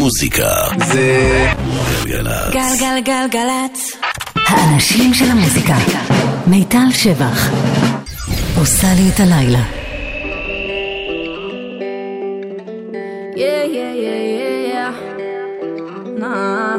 המוזיקה זה גלגלצ. גלגלגלגלצ. האנשים של המוזיקה. מיטל שבח עושה לי את הלילה. Yeah, yeah, yeah, yeah, yeah. Nah.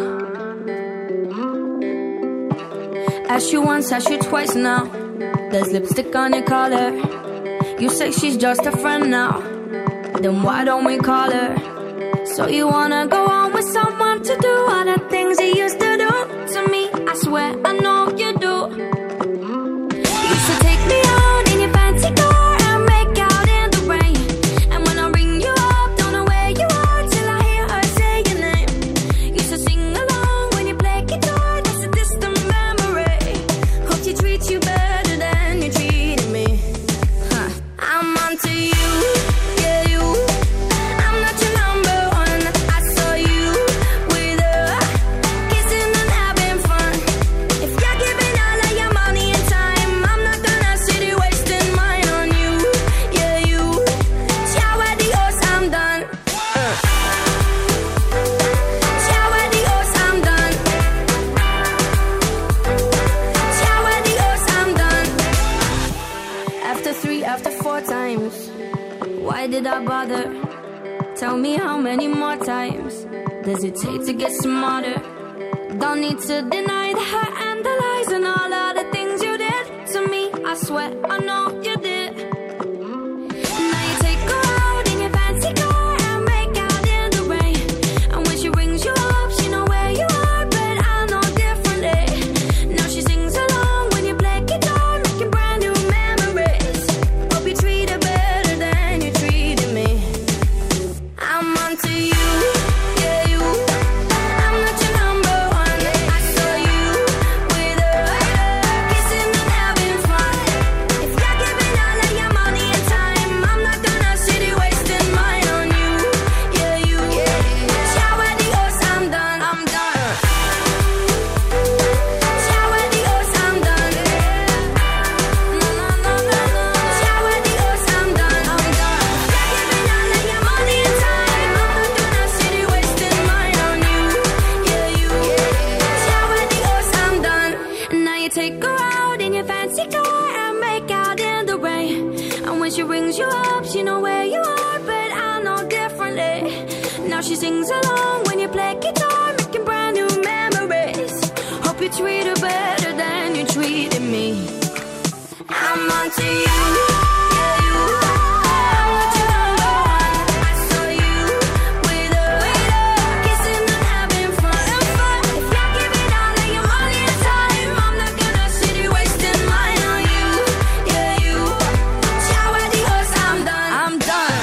Ask you once, ask you twice now. There's lipstick on your collar. You say she's just a friend now. Then why don't we call her? So you wanna go on with someone to do all the things you used to do to me? I swear I know you do. You used to take me out in your fancy car and make out in the rain. And when I ring you up, don't know where you are till I hear her say your name. Used to sing along when you play guitar, that's a distant memory. Hope she treats you better than you treated me. Huh. I'm onto you. Why did I bother? Tell me how many more times does it take to get smarter? Don't need to deny the hurt and the lies and all of the things you did to me. I swear I know you did. Now you take her out in your fancy car and make out in the rain. And when she rings you up, she know where you are, but I know differently. Now she sings along when you play guitar, making brand new memories. Hope you treat her better than you treated me. I'm onto you, yeah you. I'm not your number one. I saw you with her, kissing and having fun. If you're giving all of your money and time, I'm not gonna sit here wasting mine on you, yeah you. Ciao adios, I'm done, I'm done. Ciao adios, I'm done. No, no, no, no, no. Ciao adios, I'm done, I'm done. You're giving all of your money and time, I'm not gonna sit here wasting mine on you, yeah you. Ciao adios, I'm done. Now you take her out in your fancy car and make out in the rain. And when she rings you up, she know where you are, but I know differently. Now she sings along when you play guitar, making brand new memories. Hope you treat her better than you treated me. I'm onto you, yeah you. I'm not your number one. I saw you with her, kissing and having fun. If you're giving all of your money and time, I'm not gonna sit here wasting mine on you, yeah you. Ciao adios, I'm done, I'm done.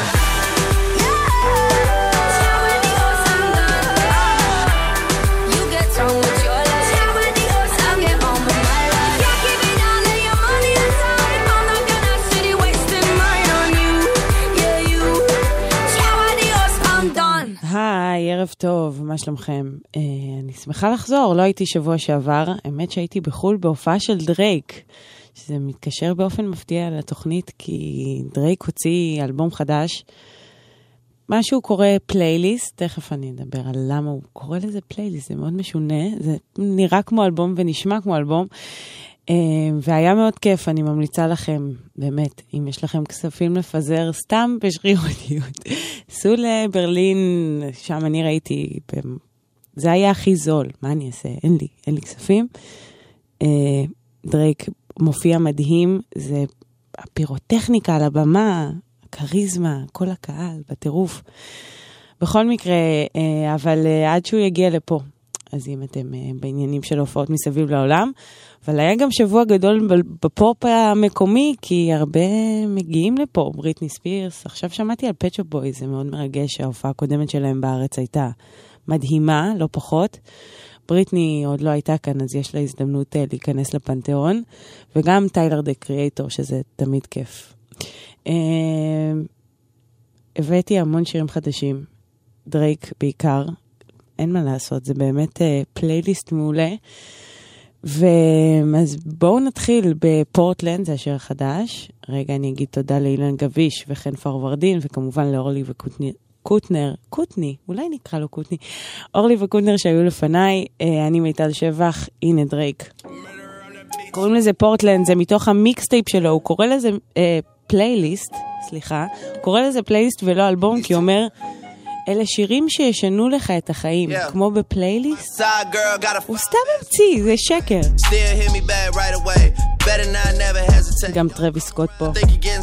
Ciao adios, I'm done. You get on with your life. Ciao adios, I'll get on with my life. If you're giving all of your money and time, I'm not gonna sit here wasting mine on you, yeah you. Ciao adios, I'm done. היי, ערב טוב, מה שלומכם? אני שמחה לחזור, לא הייתי שבוע שעבר, האמת שהייתי בחול בהופעה של דרייק, שזה מתקשר באופן מפתיע לתוכנית, כי דרייק הוציא אלבום חדש, משהו קורא פלייליסט, תכף אני אדבר על למה הוא קורא לזה פלייליסט, זה מאוד משונה, זה נראה כמו אלבום ונשמע כמו אלבום, והיה מאוד כיף, אני ממליצה לכם, באמת, אם יש לכם כספים לפזר סתם בשרירותיות, סעו לברלין, שם אני ראיתי, זה היה הכי זול, מה אני אעשה? אין לי כספים. דרייק מופיע מדהים, זה הפירוטכניקה על הבמה, הקריזמה, כל הקהל, בטירוף. בכל מקרה, אבל עד שהוא יגיע לפה, אז אם אתם בעניינים של הופעות מסביב לעולם, אבל היה גם שבוע גדול בפופ המקומי, כי הרבה מגיעים לפה, בריטני ספירס, עכשיו שמעתי על פט שופ בויז, זה מאוד מרגש, ההופעה הקודמת שלהם בארץ הייתה מדהימה, לא פחות, בריטני עוד לא הייתה כאן, אז יש לה הזדמנות להיכנס לפנתיאון, וגם טיילר דה קריאטור, שזה תמיד כיף. הבאתי המון שירים חדשים, דרייק בעיקר, אין מה לעשות, זה באמת פלייליסט מעולה, אז בואו נתחיל בפורטלנד, זה השיר החדש. רגע, אני אגיד תודה לאילן גביש וחן פרוורדין, וכמובן לאורלי קוטנר, קוטני, אולי נקרא לו קוטני, אורלי וקוטנר שהיו לפניי, אני מיטל שבח, הנה דרייק. קוראים לזה פורטלנד, זה מתוך המיקסטייפ שלו, הוא קורא לזה פלייליסט, סליחה, הוא קורא לזה פלייליסט ולא אלבום, כי הוא אומר, אלה שירים שישנו לך את החיים, כמו בפלייליסט. הוא סתם המציא, זה שקר. גם טרוויס סקוט פה.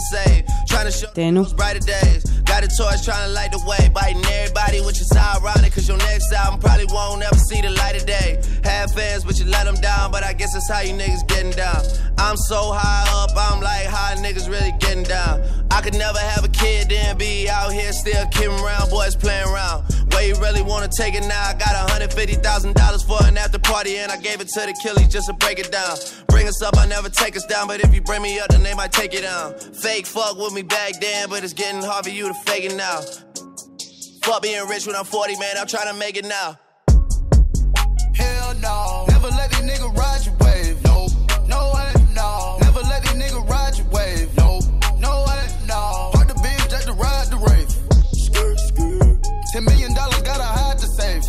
תהנו. Got a torch trying to light the way, biting everybody, which is ironic, cause your next album probably won't ever see the light of day. Have fans, but you let them down, but I guess that's how you niggas getting down. I'm so high up, I'm like, how niggas really getting down? I could never have a kid, then be out here still kidding around, boys playing around. Where you really wanna take it now? I got $150,000 for an after party, and I gave it to the killies just to break it down. Bring us up, I never take us down, but if you bring me up, then they might take it down. Fake fuck with me back then, but it's getting hard for you to fake it now. Fuck being rich when I'm 40, man, I'm trying to make it now. Hell no, never let these niggas ride your wave. No, no way, no. Never let these niggas ride your wave. No, no way, no. Fuck the bitch just to ride the rave. $10 million gotta hide the safe.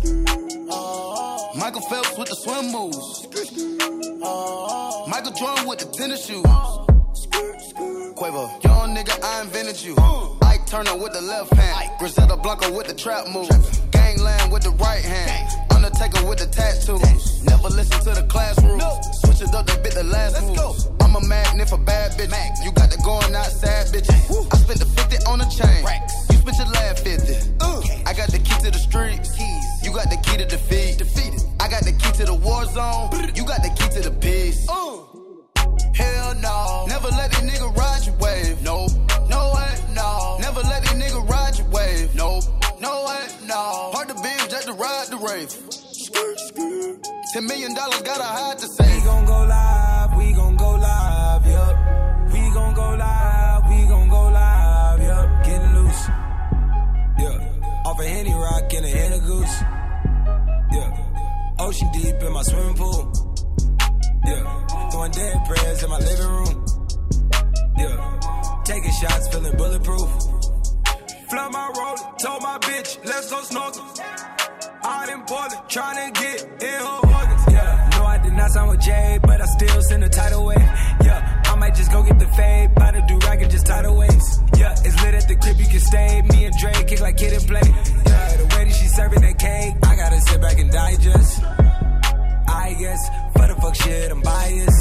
Michael Phelps with the swim moves. Michael Jordan with the tennis shoes. Quavo, young nigga, I invented you. Ike Turner with the left hand. Griselda Blanco with the trap move. Gangland with the right hand. Undertaker with the tattoos. Never listen to the classroom. Switch it up, they bit the last move. I'm a magnet for bad bitches. You got the going outside bitches. I spent the 50 on the chain. You spent your last 50. I got the key to the streets. You got the key to defeat. I got the key to the war zone. You got the key to the peace. Hell no. Never let these niggas ride your wave. No, no way, no. Never let these niggas ride your wave. No, no way, no. Hard to binge just to ride the rave. $10 million gotta hide the safe. We gon' go live, we gon' go live, yup. We gon' go live, we gon' go live, yup. Getting loose, yeah. Off a Henny Rock and a Henny Goose, yeah. Ocean deep in my swimming pool. Yeah, throwing dead prayers in my living room. Yeah, taking shots, feeling bulletproof. Flood my road, told my bitch, let's go snorkel. Out in Portland, trying to get in her organs. Yeah, no, I did not sign with Jay, but I still send a tidal wave. Yeah, I might just go get the fade, by the do-rag and just tidal waves. Yeah, it's lit at the crib, you can stay. Me and Dre kick like kid and play. Yeah, the way that she serving that cake, I gotta sit back and digest. I guess, for the fuck shit, I'm biased.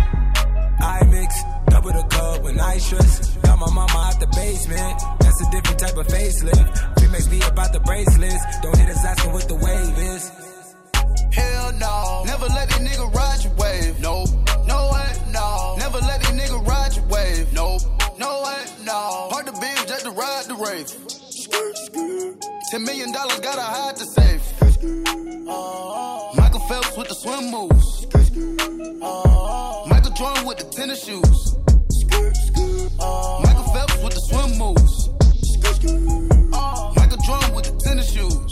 I mix, double the cup when I stress. Got my mama out the basement, that's a different type of facelift. Remix be about the bracelets, don't hit us asking what the wave is. Hell no, never let these niggas ride your wave. No, no way, no. Never let these niggas ride your wave. No, no way, no. Hard to binge just to ride the rave. $10 million gotta hide the safe. Michael Phelps with the swim moves. Michael Jordan with the tennis shoes. Michael Phelps with the swim moves. Michael Jordan with the tennis shoes.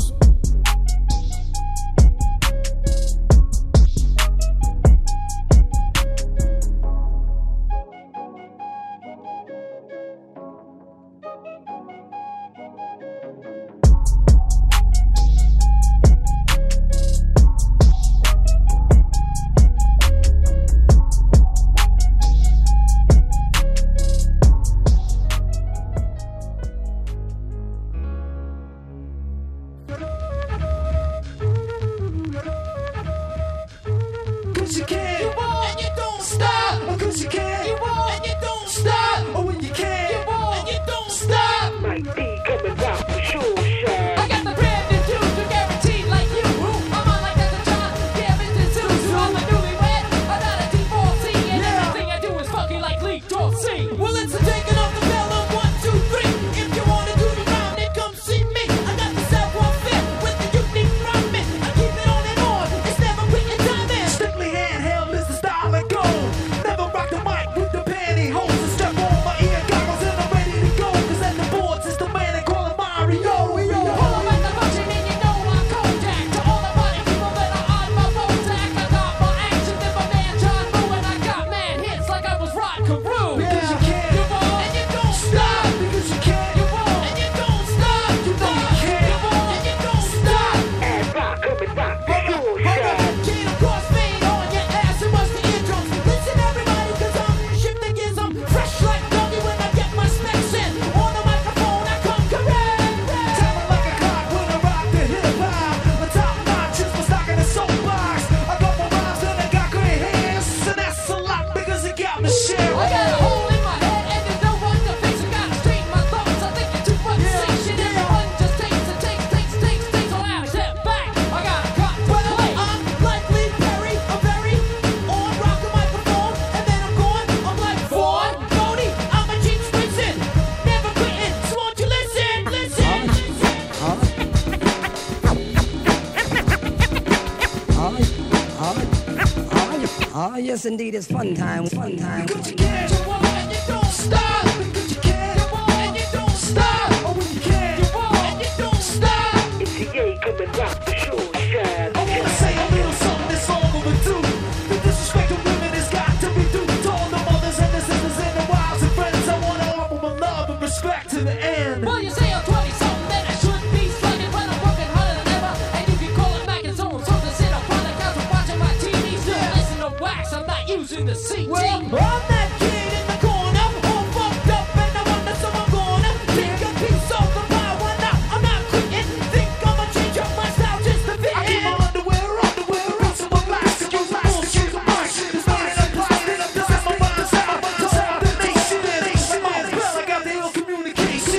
Ah, yes, indeed, it's fun time, fun time. But you can't, you won't, and you don't stop. But you can't, you won't, and you don't stop. Oh, when you can't, you won't, and you don't stop. It's the A, come and rock the show, shine. I wanna say a little something that's all overdue. The disrespect of women has got to be due to all the mothers and the sisters and the wives and friends. I wanna offer my love and respect to the end. Well, you say I'm 20-something, then I should be slugging, but I'm working harder than ever. And you can call it back and so on. So to sit up on the couch and watching my TV, still listen to wax. I'm not using the CT. Well, I'm that kid in the corner, all fucked up, and I wonder someone gonna take a piece of the pie. Why not? I'm not quitting. Think I'ma change up my style just to fit in. I keep my underwear out, so I'm blast to use bullshit. It's not in a plastic, I'm just my mind, time the nation. Well, I got the ill communication.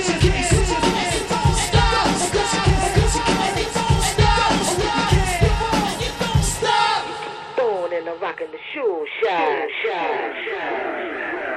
Born and I'm rocking the show, shine, shine, shine.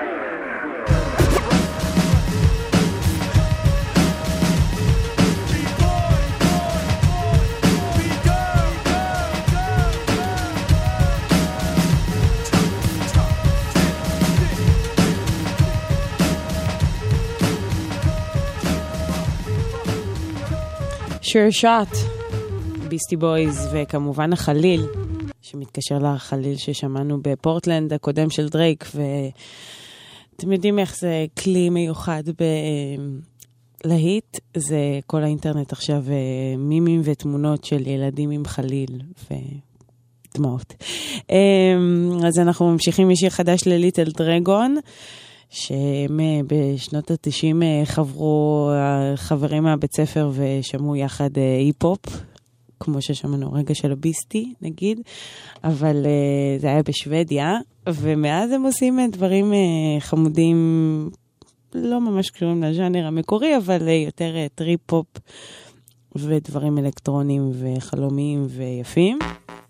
Sure Shot, ביסטי בויז, וכמובן החליל, שמתקשר לחליל ששמענו בפורטלנד הקודם של דרייק, ואתם יודעים איך זה כלי מיוחד בלהיט, זה כל האינטרנט עכשיו מימים ותמונות של ילדים עם חליל ודמעות. אז אנחנו ממשיכים משיר חדש לליטל דרגון, שהם בשנות ה-90 חברו חברים מהבית ספר ושמעו יחד היפ-הופ, כמו ששמענו רגע של הביסטי נגיד, אבל זה היה בשוודיה, ומאז הם עושים דברים חמודים, לא ממש קשורים לז'אנר המקורי, אבל יותר טריפ-הופ ודברים אלקטרונים וחלומיים ויפים.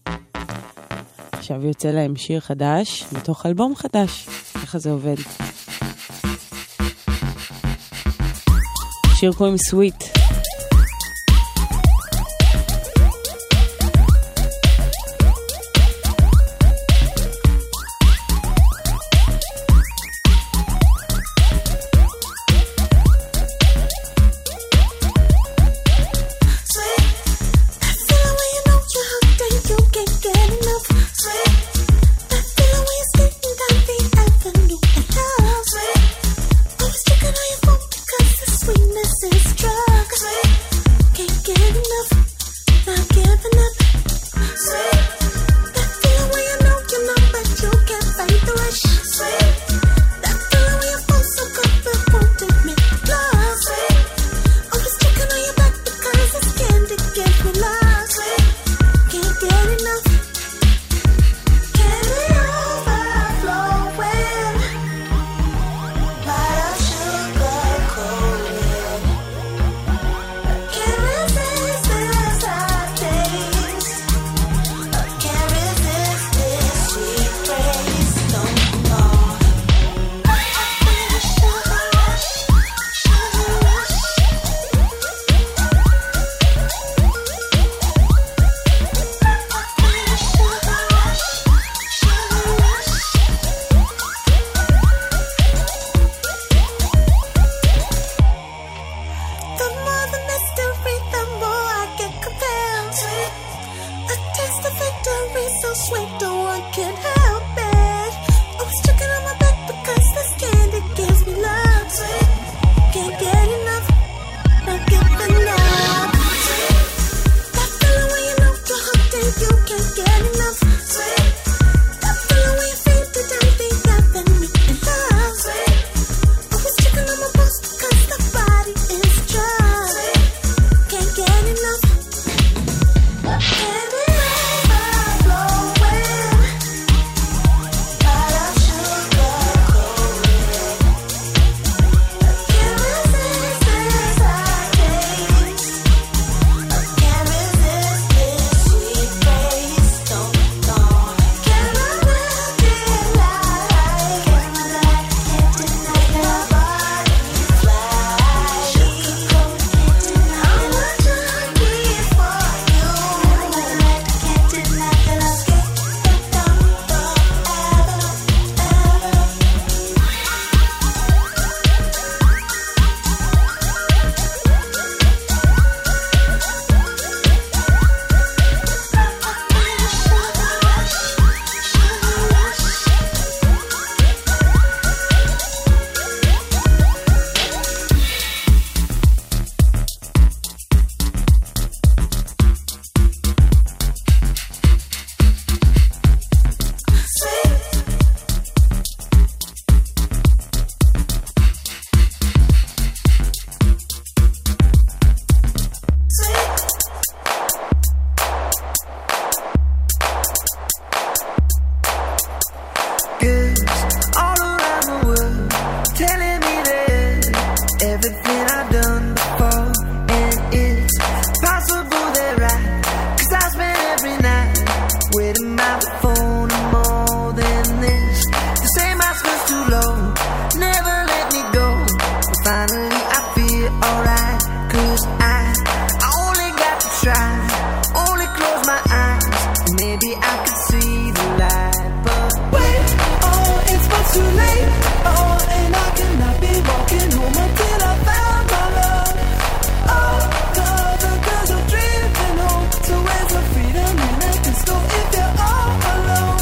עכשיו יוצא להם שיר חדש מתוך אלבום חדש, ככה זה עובד. שיר קוראים סוויט. try. Only close my eyes, and maybe I could see the light. But wait, oh, it's much too late. Oh, and I cannot be walking home until I found my love. Oh, the girls are drifting home. So where's the freedom in a disco if they're all alone?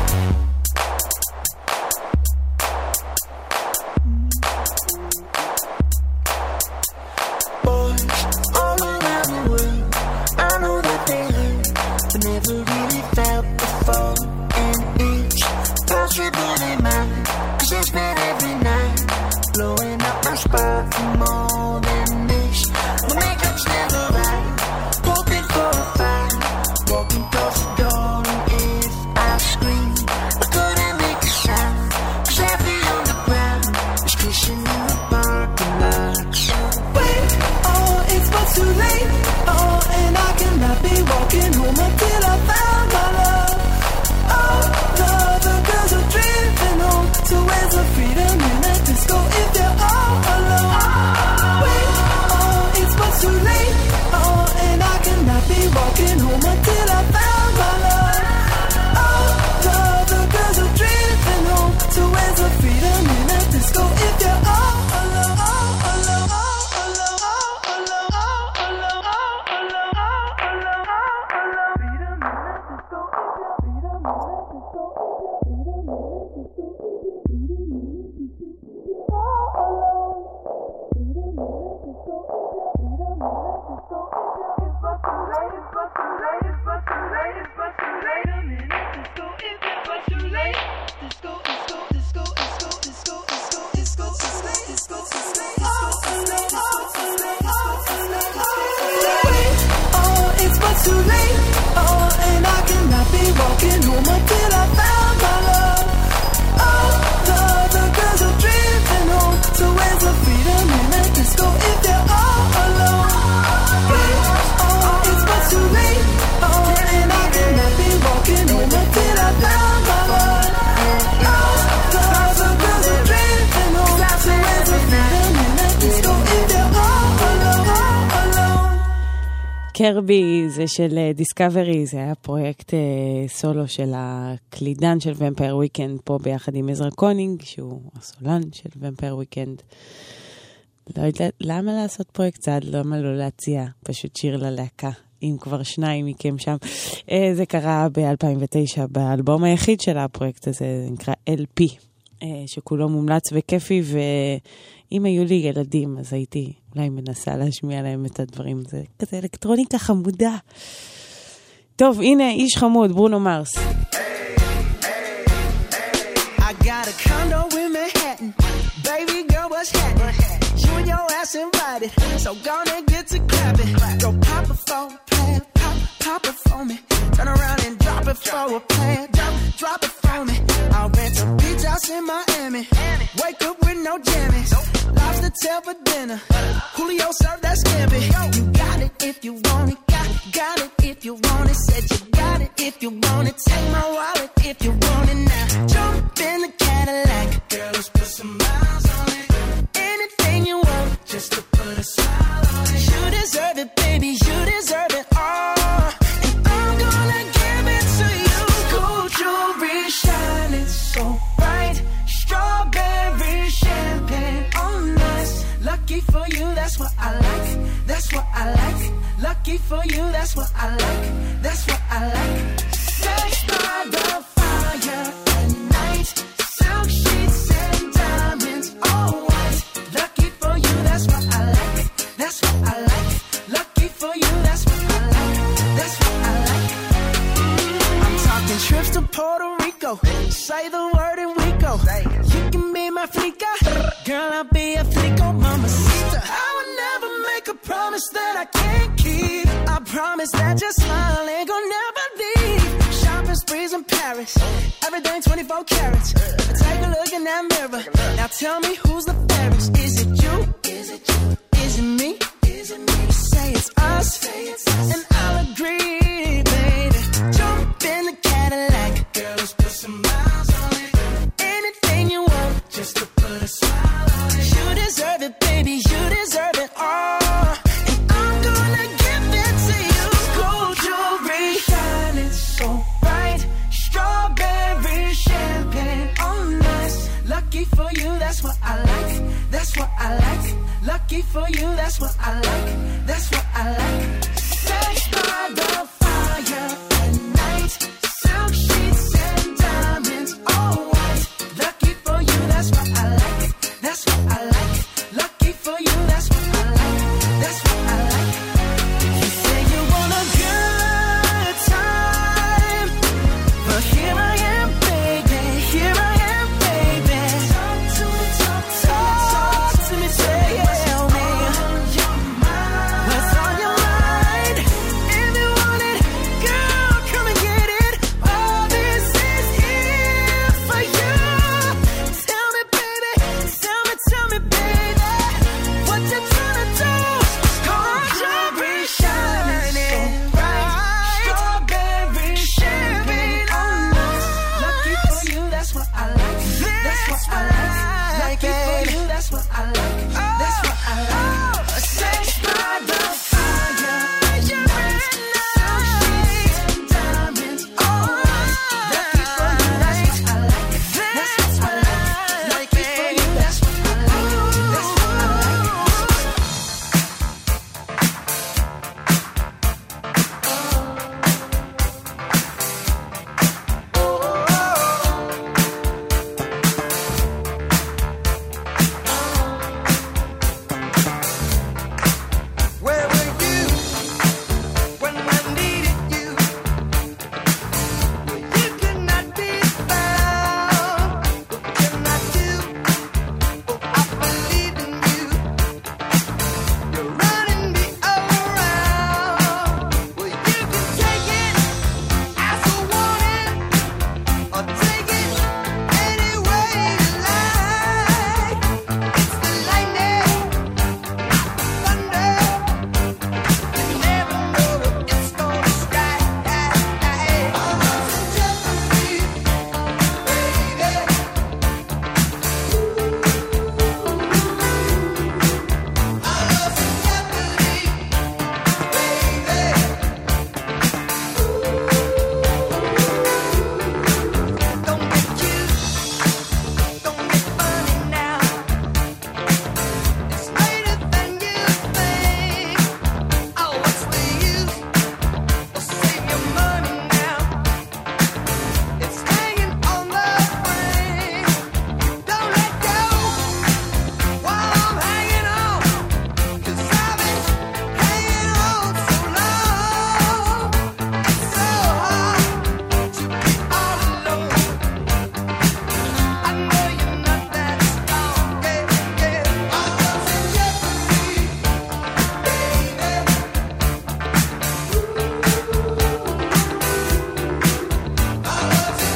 Boys all around the world, I know that they hurt, but never really felt before. And it's possibly mine, 'cause I spent every night blowing up my spot for more than this. My makeup's never right, hoping for a fight, walking across the door, and if I scream, I couldn't make a sound, 'cause heavy on the ground is crashing in the parking lots. Wait, oh, it's much too late. Oh, and I cannot be walking home until I found my love. Oh, the girls are drifting home. So where's the freedom in a disco if they're all alone? Wait, oh, it's much too late. Oh, and I cannot be walking home until I found my love. Oh, the girls are drifting home. So where's the freedom in a disco if they're all alone? Too late, oh, and I cannot be walking home until I found my love. Oh, the girls are drifting home. So where's the freedom in a disco if they're all alone? Wait, oh, it's much too late, oh, and I cannot be walking home until I found my love. Oh, the girls are drifting home. So where's the freedom in a disco if they're all alone? קרבי זה של דיסקאברי, זה היה פרויקט סולו של הקלידן של ומפייר וויקנד פה ביחד עם עזרא קונינג, שהוא הסולן של ומפייר וויקנד. לא יודעת, למה לעשות פרויקט צעד? למה לא להציע פשוט שיר ללהקה, אם כבר שניים מכם שם. זה קרה ב-2009 באלבום היחיד של הפרויקט הזה, זה נקרא LP, שכולו מומלץ וכיפי, ואם היו לי ילדים אז הייתי אולי מנסה להשמיע להם את הדברים. זה כזה אלקטרוניקה חמודה. טוב, הנה איש חמוד, ברונו מרס. I got a condo in Manhattan. Baby girl, what's happening? You and your ass invited, so gonna get to clapping. Go pop it for a plan, pop it for me. Turn around and drop it for a plan, drop it for me. I'll rent a beach house in Miami. Wake up with no jammies. Lobster tail for dinner. Julio served that scampi. You got it if you want it. Got it if you want it. Said you got it if you want it. Take my wallet if you want it now. Jump in the Cadillac. Girl, let's put some miles on it. Anything you want, just to put a smile on it. You deserve it, baby. You deserve it all. And I'm gonna give it to you. Gold jewelry shining so bright. Strawberry champagne on us. Lucky for you, that's what I like. That's what I like. Lucky for you, that's what I like. That's what I like. Sex by the fire at night. Silk sheets and diamonds, all white. Lucky for you, that's what I like. That's what I like. Lucky for you, that's what I like. That's what I like. I'm talking trips to Puerto Rico. Say the word and we go. You can be my flica. Girl, I'll be a flico, mamacita. I would never make a promise that I can't keep. I promise that your smile ain't gonna never leave. Shopping sprees in Paris. Everything 24 carats. Take a look in that mirror. Now tell me who's the fairest. Is it you? Is it you? Is it me? Is it me? Say it's us. And I'll agree, baby. Jump in the Cadillac. Girl, let's put some miles on it. Anything you want, just to put a smile on it. You deserve it, baby. You deserve it all. And I'm gonna give it to you. lucky for you, that's what I like, that's what I like. Sex by the fire at night, silk sheets and diamonds, all white. Lucky for you, that's what I like, that's what I like. Lucky for you, that's what I like, that's what I like. You say you want a good time, but here I am, baby, here I am, baby. Talk to me, talk to me, tell me what's on your mind. If you want it, girl, come and get it. All this is here for you. Tell me, baby, tell me, baby, what you tryna do? Strawberry shining bright, strawberry champagne on us. Lucky for you, that's what I like, that's what I like. Lucky for you, that's what I like, that's what I like. Sex by the fire, silk sheets and diamonds, all white. Lucky for you, that's what I like, that's what I like. Lucky for you, that's what I like, that's what I like. Where were you when I needed you? You could not be found. What can I do? Oh, I believe in you. You're running me around. Well, you can take it as I want it, or take it any way you like. It's the lightning, thunder. You never know what it's gonna strike. I was in jeopardy, baby. Don't get cute, don't get funny now. It's later than you think. Oh, what's the use? Well, save your money now. It's hanging on the string. Don't let go while I'm hanging on, 'cause I've been hanging on so long. It's so hard to be all alone. I know you're not that strong, yeah, yeah. I was in jeopardy, baby. I was in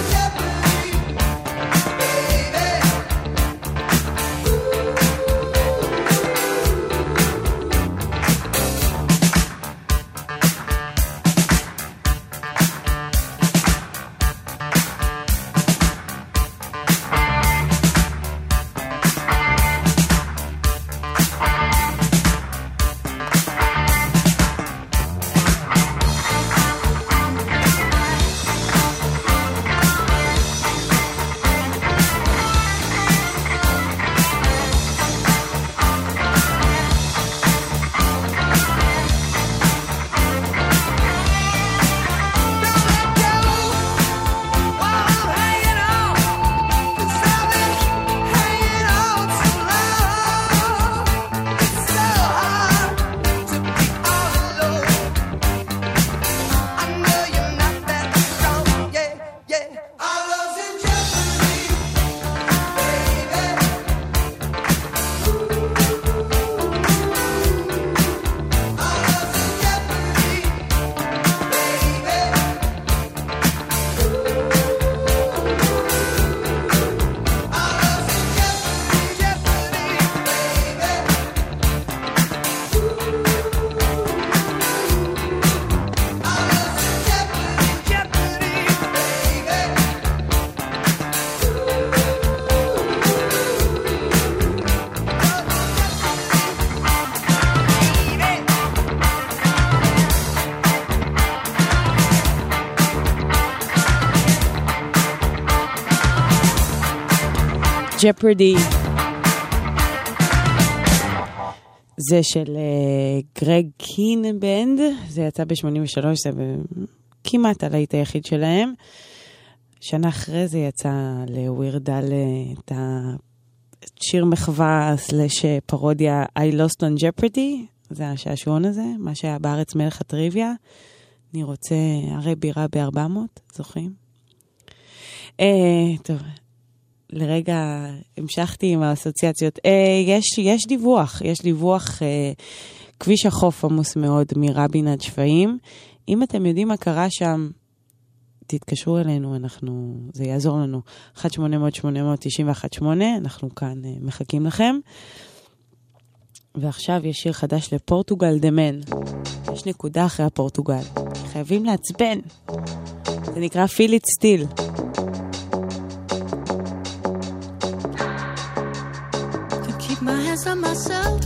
Jeopardy. זה של גרג קין בנד, זה יצא ב-83, זה כמעט הלהיט היחיד שלהם. שנה אחרי זה יצא לווירדל את השיר מחווה סלש פרודיה I Lost on Jeopardy, זה השעשועון הזה, מה שהיה בארץ מלך הטריוויה. אני רוצה הרי בירה ב-400, זוכרים? טוב, לרגע המשכתי עם האסוציאציות. יש דיווח, כביש החוף עמוס מאוד מרבין עד שפיים. אם אתם יודעים מה קרה שם, תתקשרו אלינו, זה יעזור לנו. 1-800-891-8, אנחנו כאן מחכים לכם. ועכשיו יש שיר חדש לפורטוגל דמן. יש נקודה אחרי הפורטוגל. חייבים לעצבן. זה נקרא Feel It Still. My hands on myself.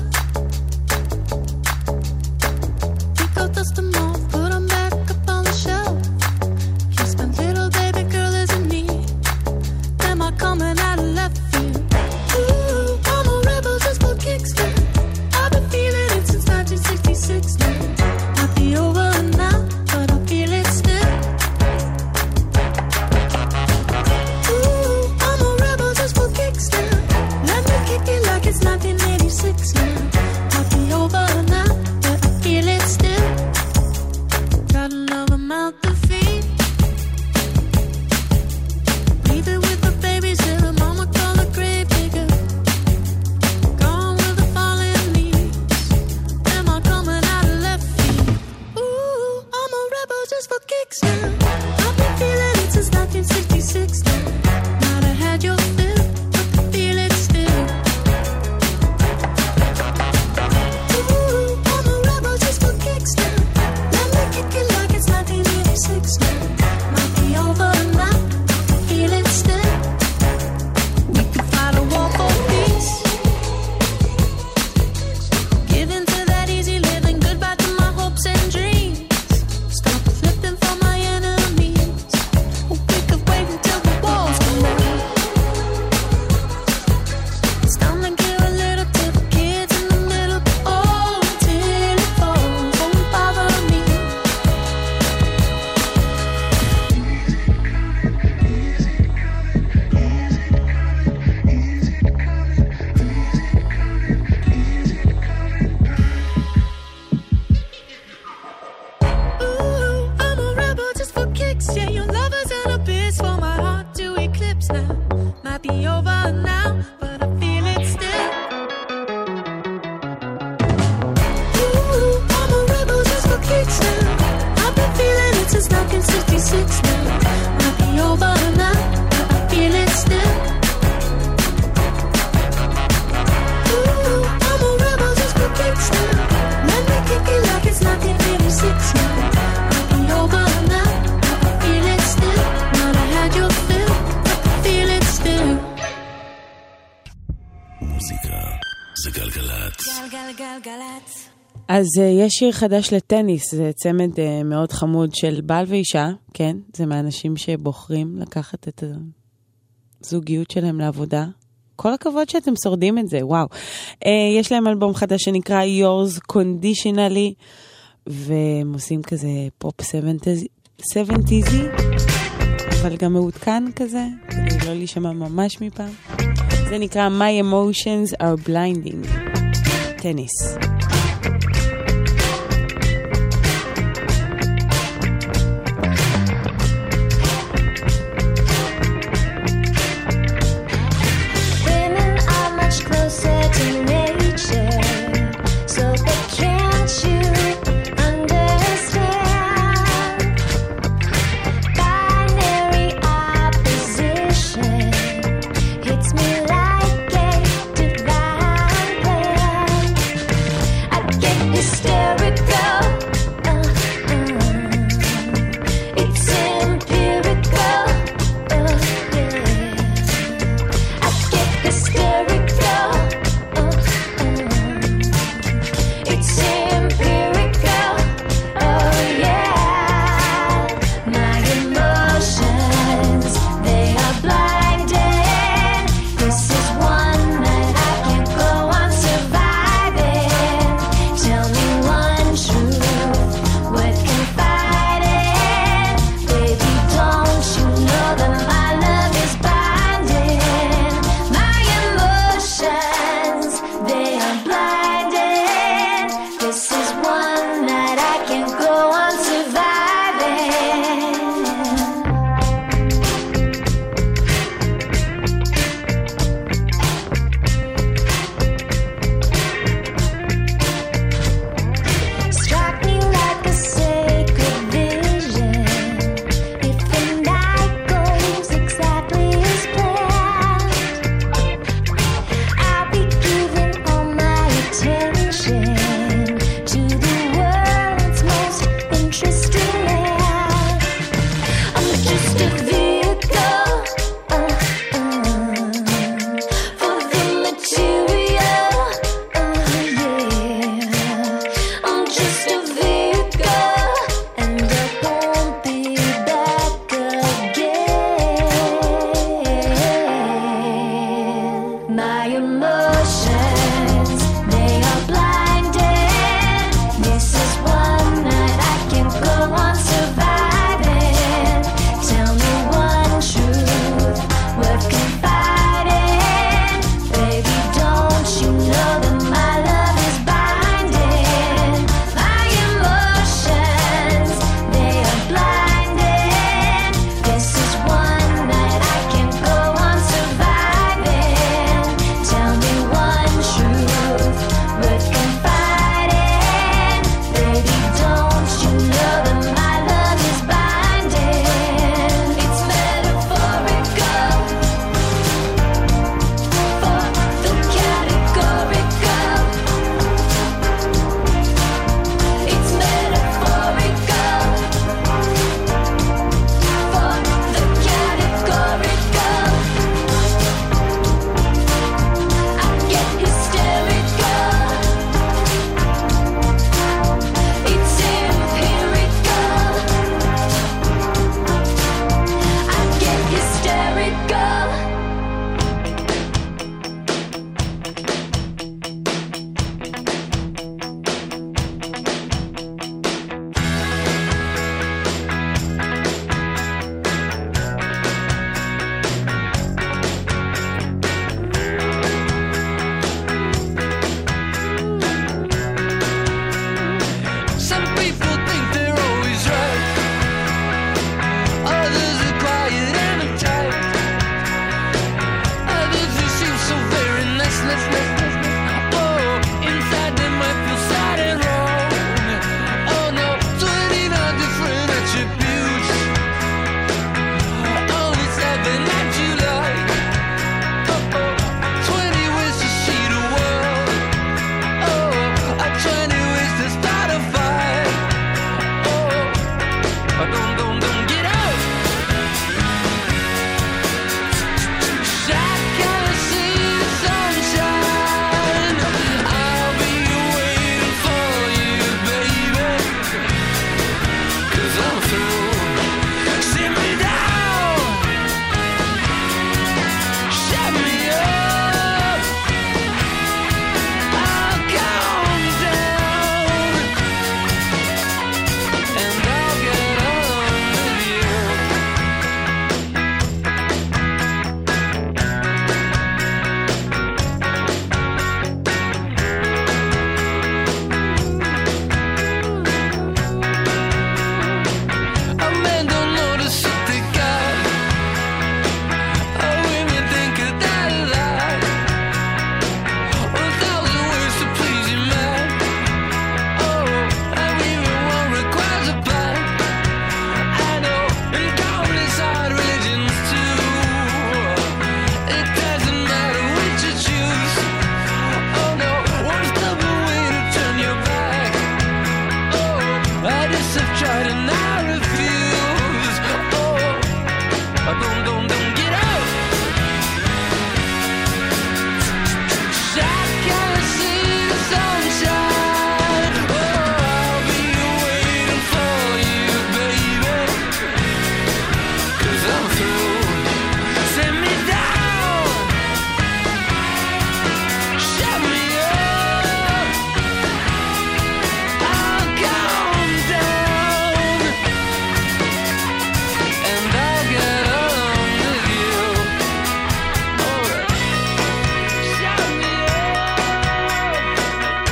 Pick up dust them off, put them back up on the shelf. Yes, my little baby girl isn't me. Am I coming out of left field? Ooh, I'm a rebel just for kicks. I've been feeling it since 1966 now. Might be over now, but I feel it still. Ooh, I'm a rebel just for kicks now. Let me kick it like it's 1986 now. Might be over now, but I feel it still. Got another mouth to feed. Leave it with the babies and the mama call the grave digger. Gone with the falling leaves. Am I coming out of left field? Ooh, I'm a rebel just for kicks now. I've been feeling it since 1966 now. Might have had your fill, but I feel it still. Ooh, I'm a rebel just for kicks now. Let me kick it like it's 1986 now. Might be over now, I feel it still. We could fight a war for peace. Give in to that easy living, goodbye to my hopes and dreams. Stop flipping for my enemies. We could wait until the walls come down. It's time to give a little to the kids in the middle. Oh, till it falls, won't bother me. Ooh, I'm a rebel just for kicks. Yeah, your lovers and a bitch for my heart to eclipse now. Might be over now, but I feel it still. Ooh, I'm a rebel just for kicks now. I've been feeling it since 1966 now. Might be over now, but I feel it still. Ooh, I'm a rebel just for kicks now. Let me kick it like it's 1986 now. Might be over now, but I feel it still. Might have had your fill, but I feel it still. מוזיקה זה גלגלת. גלגלגלגלצ. אז יש שיר חדש לטניס, זה צמד מאוד חמוד של בעל ואישה, כן? זה מהאנשים שבוחרים לקחת את הזוגיות שלהם לעבודה. כל הכבוד שאתם שורדים את זה, וואו. יש להם אלבום חדש שנקרא Yours Conditionally, והם עושים כזה פופ 70s, אבל גם מעודכן כזה, כדי לא להישמע ממש מפעם. זה נקרא My Emotions Are Blinding. טניס. Women are much closer to nature, so but can't you understand? Binary opposition hits me like a divine plan.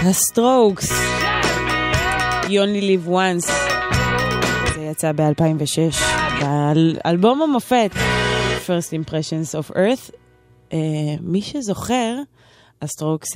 הסטרוקס, You Only Live Once. זה יצא ב-2006 באלבום המופת First Impressions of Earth. מי שזוכר, הסטרוקס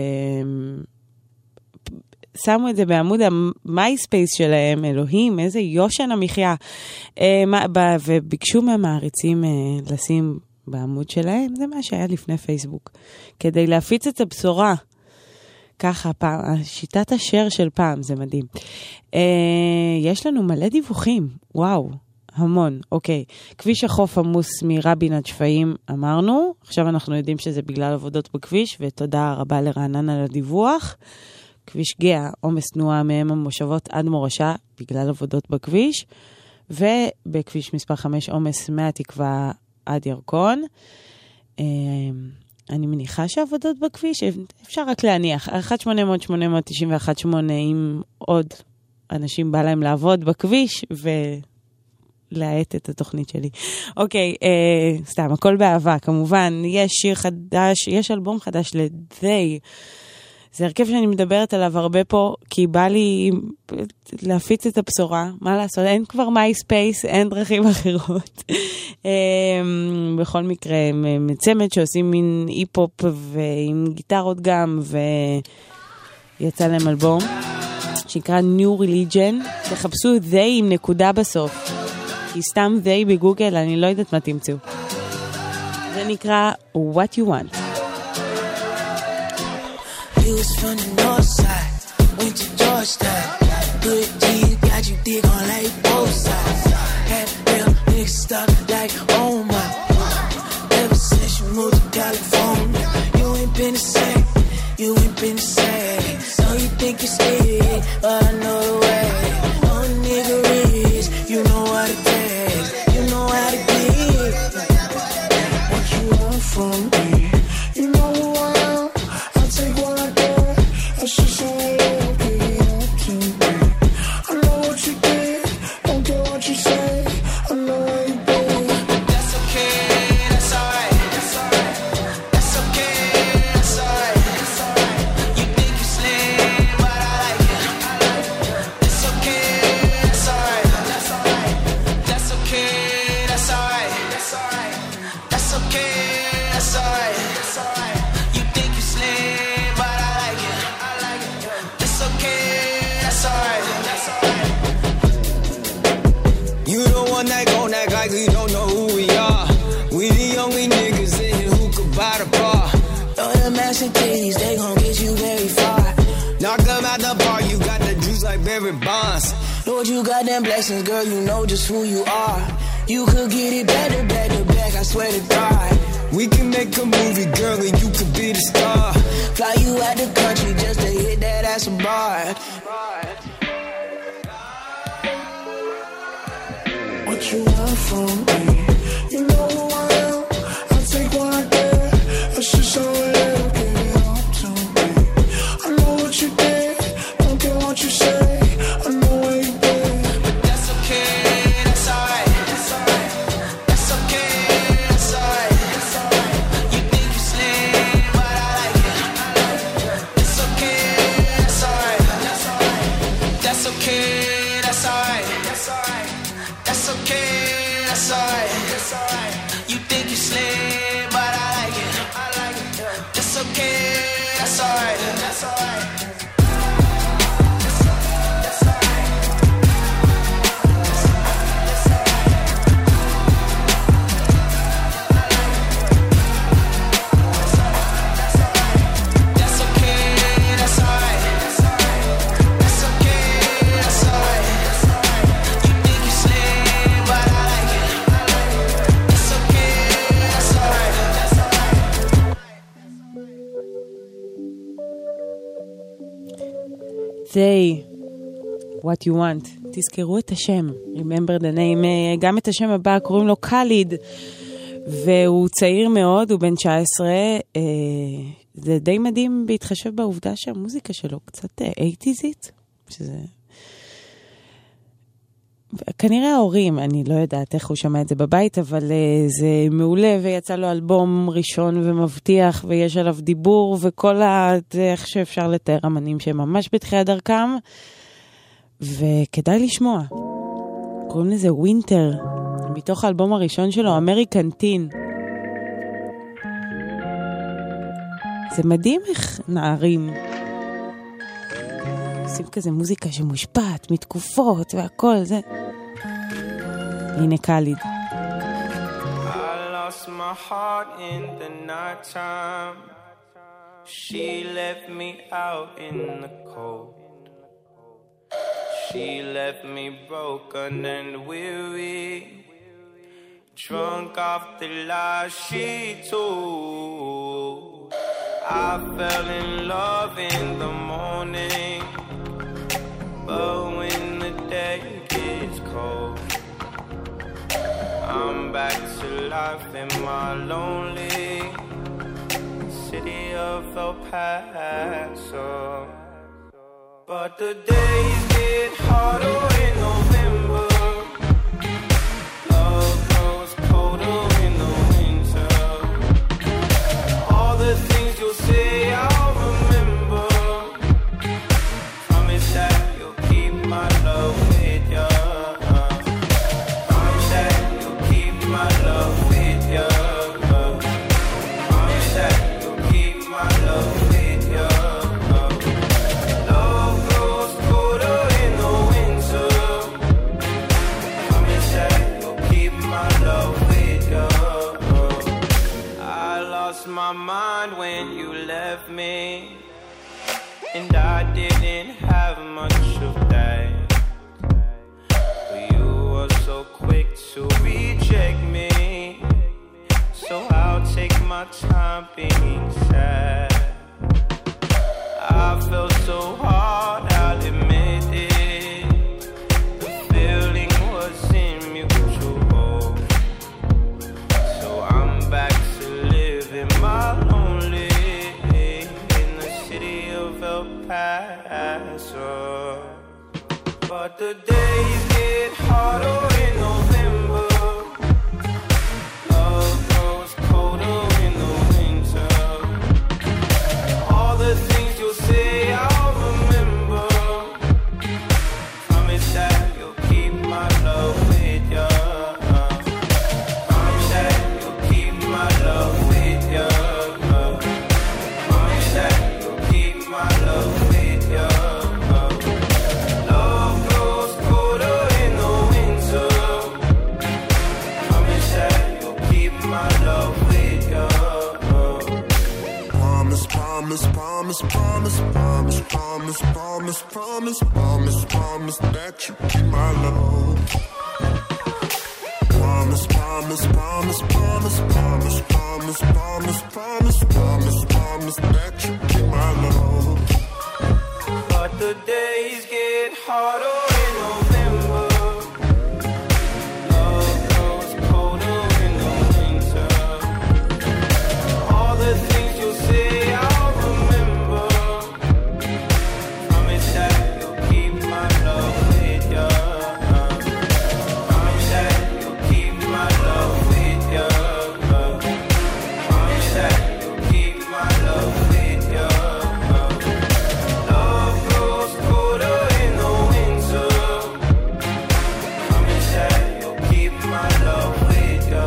שמו את זה בעמוד המייספייס שלהם, אלוהים, איזה יושן המחיה, וביקשו מהמעריצים לשים בעמוד שלהם, זה מה שהיה לפני פייסבוק, כדי להפיץ את הבשורה. ככה, שיטת השאר של פעם, זה מדהים. יש לנו מלא דיווחים, וואו, המון, אוקיי. כביש החוף עמוס מרבין עד שפיים, אמרנו, עכשיו אנחנו יודעים שזה בגלל עבודות בכביש, ותודה רבה לרענן על הדיווח. כביש גאה, עומס תנועה מהם המושבות עד מורשה, בגלל עבודות בכביש, ובכביש מספר 5 עומס מהתקווה עד ירקון. אני מניחה שעבודות בכביש, אפשר רק להניח, 1-800-891-8, אם עוד אנשים בא להם לעבוד בכביש, ולהעט את התוכנית שלי. אוקיי, סתם, הכל באהבה, כמובן, יש שיר חדש, יש אלבום חדש ל-They, זה הרכב שאני מדברת עליו הרבה פה, כי בא לי להפיץ את הבשורה, מה לעשות, אין כבר מייספייס, אין דרכים אחרות. בכל מקרה, מצמד שעושים מין אי-פופ ועם גיטרות גם, ויצא להם אלבום, שנקרא New Religion, תחפשו They עם נקודה בסוף, כי סתם They בגוגל, אני לא יודעת מה תמצאו. זה נקרא What You Want. You was from the north side, went to Georgetown. Good G's got you dig on like both sides. Had real niggas stuck like, oh my. Ever since you moved to California, you ain't been the same, you ain't been the same. So you think you're scared, but I know the way. No nigga is, you know what it takes, you know how to get. What you want from me, you know who I am. I'll take what I get, that's just how I live, give it up to me. I know what you did, don't care what you say, I know how you been. But that's okay, that's alright, that's alright. That's okay, that's alright, that's alright. You think you slim, but I like it, I like it. It's okay, that's alright, that's alright. That's okay, that's alright, that's alright. That's okay, that's alright, that's alright. You think you slim, but I like it, I like it. It's okay, that's alright, that's alright. You the one that gon' act like we don't know who we are. We the only niggas in here who could buy the bar. Throw the mass and titties, they gon' get you very far. Knock them out the bar, you got the juice like Barry Bonds. Lord, you got them blessings, girl, you know just who you are. You could get it better, back to back, I swear to God. We can make a movie, girl, and you could be the star. Fly you out the country just to hit that ass a bar. What you want from me, you know who I am. I'll take what I get, that's just how I live, give it up to me. I know what you did, don't care what you say, I know where you been. But that's okay, that's alright, that's alright. That's okay, that's alright, that's alright. You think you slim, but I like it, I like it. It's okay, that's alright, that's alright. That's okay, that's alright, that's alright. That's okay, that's alright, that's alright. You think you slim, but I like it, I like it. It's okay, that's alright, that's alright. That's okay, that's alright, that's alright. That's okay, that's alright, that's alright. You think you slim, but I like it, I like it. It's okay, that's alright, that's alright. They, what you want. תזכרו את השם. Remember the name. גם את השם הבא, קוראים לו קליד. והוא צעיר מאוד, הוא בן 19. זה די מדהים בהתחשב בעובדה שהמוזיקה שלו קצת 80'sית. שזה... כנראה ההורים, אני לא יודעת איך הוא שמע את זה בבית, אבל זה מעולה, ויצא לו אלבום ראשון ומבטיח, ויש עליו דיבור, וכל איך שאפשר לתאר אמנים שהם ממש בתחילת דרכם, וכדאי לשמוע. קוראים לזה ווינטר, מתוך האלבום הראשון שלו, אמריקן טין. זה מדהים איך נערים עושים כזה מוזיקה שמושפעת מתקופות והכל זה. הנה קליד. I lost my heart in the night time. She left me out in the cold. She left me broken and weary, drunk off the lies she told. I fell in love in the morning, but when the day gets cold, I'm back to life in my lonely city of El Paso. But the days get harder in November. Love grows colder in the winter. All the things you'll say I'll remember. Promise that you'll keep my love with ya. Promise that you'll keep my love with ya. Promise that you'll keep my love with ya. Love grows colder in the winter. Promise that you'll keep my love with ya. I lost my mind when you left me, and I didn't have much of that. But you were so quick to reject me, so I'll take my time being sad. I felt so hard, I'll admit it. The feeling wasn't mutual, so I'm back to living my lonely in the city of El Paso. But the days get harder in November. Love grows colder in the winter. All the things you'll say I'll remember. Promise that you'll keep my love with ya. Promise that you'll keep my love with ya. Promise that you'll keep my love with ya. Love grows colder in the winter. Promise that you'll keep my love with ya. Promise, promise, promise, promise, promise, promise, promise, promise, promise, promise that you keep my love. Promise, promise, promise, promise, promise, promise, promise, promise, promise, promise that you keep my love. But the days get harder in November. Love grows colder in the winter. All the things you'll say I'll remember. Promise that you'll keep my love with ya. Promise that you'll keep my love with ya. Promise that you'll keep my love with ya. Love grows colder in the winter. Promise that you'll keep my love with ya.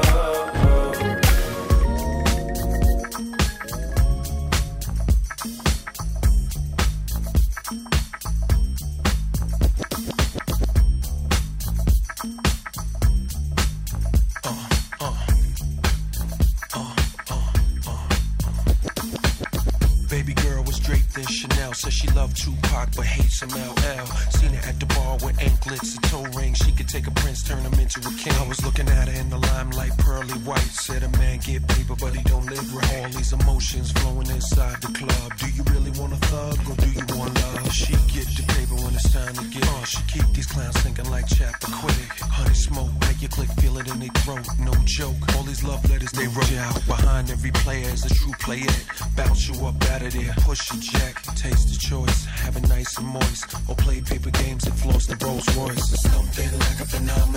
Baby girl was draped in Chanel. Said she loved Tupac but hates some LL. Seen her at the bar with anklets and toe rings. She could take a prince, turn him into a king. I was looking at her in the limelight, pearly white. Said a man get paper but he don't live right. All these emotions flowing inside the club. Do you really want a thug or do you want love? She get the paper when it's time to get it. She keep these clowns thinking like Chappaquiddick. Honey smoke, make your click, feel it in their throat. No joke, all these love letters they wrote. You out behind every player is a true player. Bounce you up out of there, push your jack, taste the choice, have it nice and moist, or play paper games and floss the Rolls Royce. Something like a phenomenon.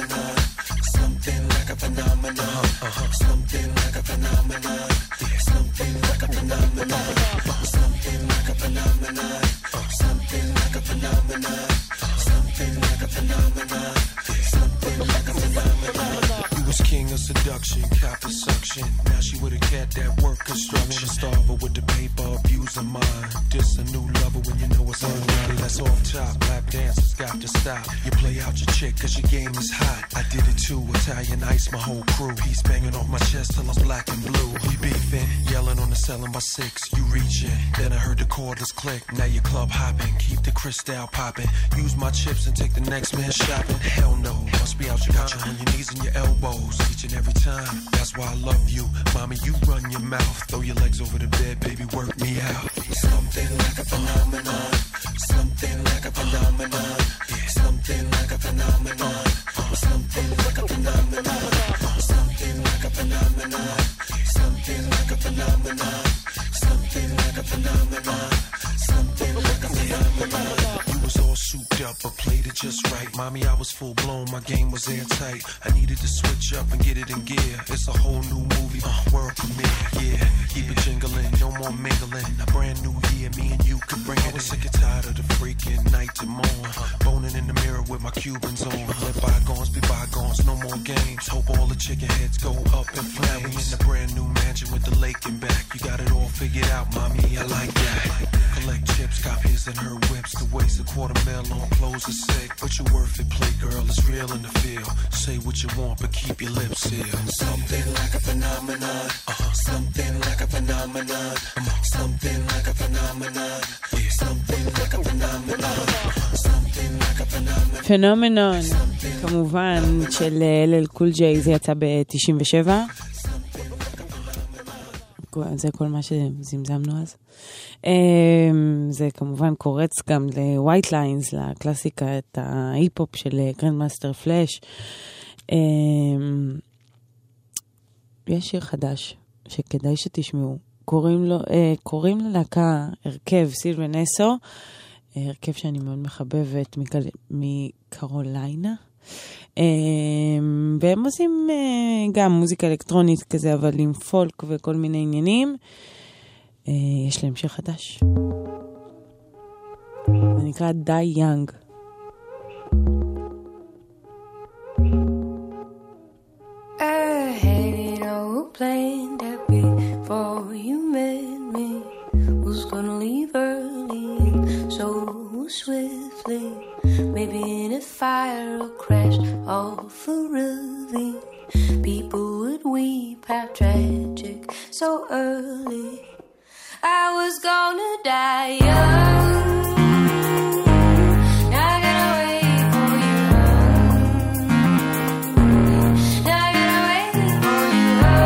seduction, cop the suction. Now she with a cat that work construction. Starve her with the paper, abuse her mind. Just a new lover when you know it's unready. That's off top, lap dancers got to stop. You play out your chick cause your game is hot. I did it too, Italian ice, my whole crew. He's banging off my chest till I'm black and blue. We beefing, yelling on the cell in my 6. You reaching, then I heard the cordless click. Now you club hopping, keep the crystal popping. Use my chips and take the next man shopping. Hell no, must be out your got you on your knees and your elbows each and every time. That's why I love you, mommy. You run your mouth, throw your legs over the bed, baby. Work me out. Something like a phenomenon. Something like a phenomenon. Something like a phenomenon. Something like a phenomenon. Something like a phenomenon. Something like a phenomenon. Something like a phenomenon. Something like a phenomenon. You was all souped up, but played it just right. Mommy, I was full blown, my game was airtight. I needed to switch up and get it in gear. It's a whole new movie, world premiere. Yeah, keep it jingling, no more mingling. A brand new year, me and you could bring it. I was sick and tired of the freaking night to morn. Boning in the mirror with my Cubans on. Let bygones be bygones, no more games. Hope all the chicken heads go up in flames. We in a brand new mansion with the lake in back. You got it all figured out, mommy, I like that. Collect chips, cop his and her whips. To waste $250,000 on clothes is sick. But you worth it, play girl, it's real in the field. Say what you want, but keep your lips sealed. Something like a phenomenon. Something like a phenomenon. Something like a phenomenon. Something like a phenomenon. Something like a phenomenon. פנומנון, כמובן, של LL Cool J, זה יצא ב-97. זה כל מה שזמזמנו אז. זה כמובן קורץ גם ל-White Lines, לקלאסיקת ההיפ-הופ של גרנדמאסטר פלאש. יש שיר חדש שכדאי שתשמעו. קוראים ללהקה הרכב סילבן אסו, הרכב שאני מאוד מחבבת מקרוליינה. והם עושים גם מוזיקה אלקטרונית כזה, אבל עם פולק וכל מיני עניינים. יש להם שיר חדש. זה נקרא Die Young. I had it all planned that before you met me. Was gonna leave early and so swiftly. Maybe in a fire or crash off a ravine. People would weep, how tragic, so early. I was gonna die young. Now I gotta wait for you home. Now I gotta wait for you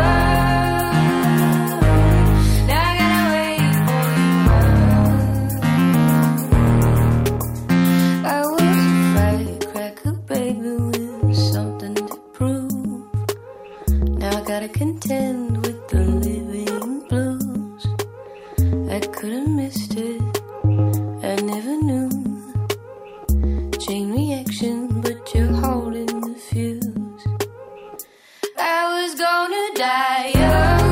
home. Now I gotta wait for you home. I was a firecracker, baby, with something to prove. Now I gotta contend with the living blues. I could have missed it, I never knew. Chain reaction, but you're holding the fuse. I was gonna die young.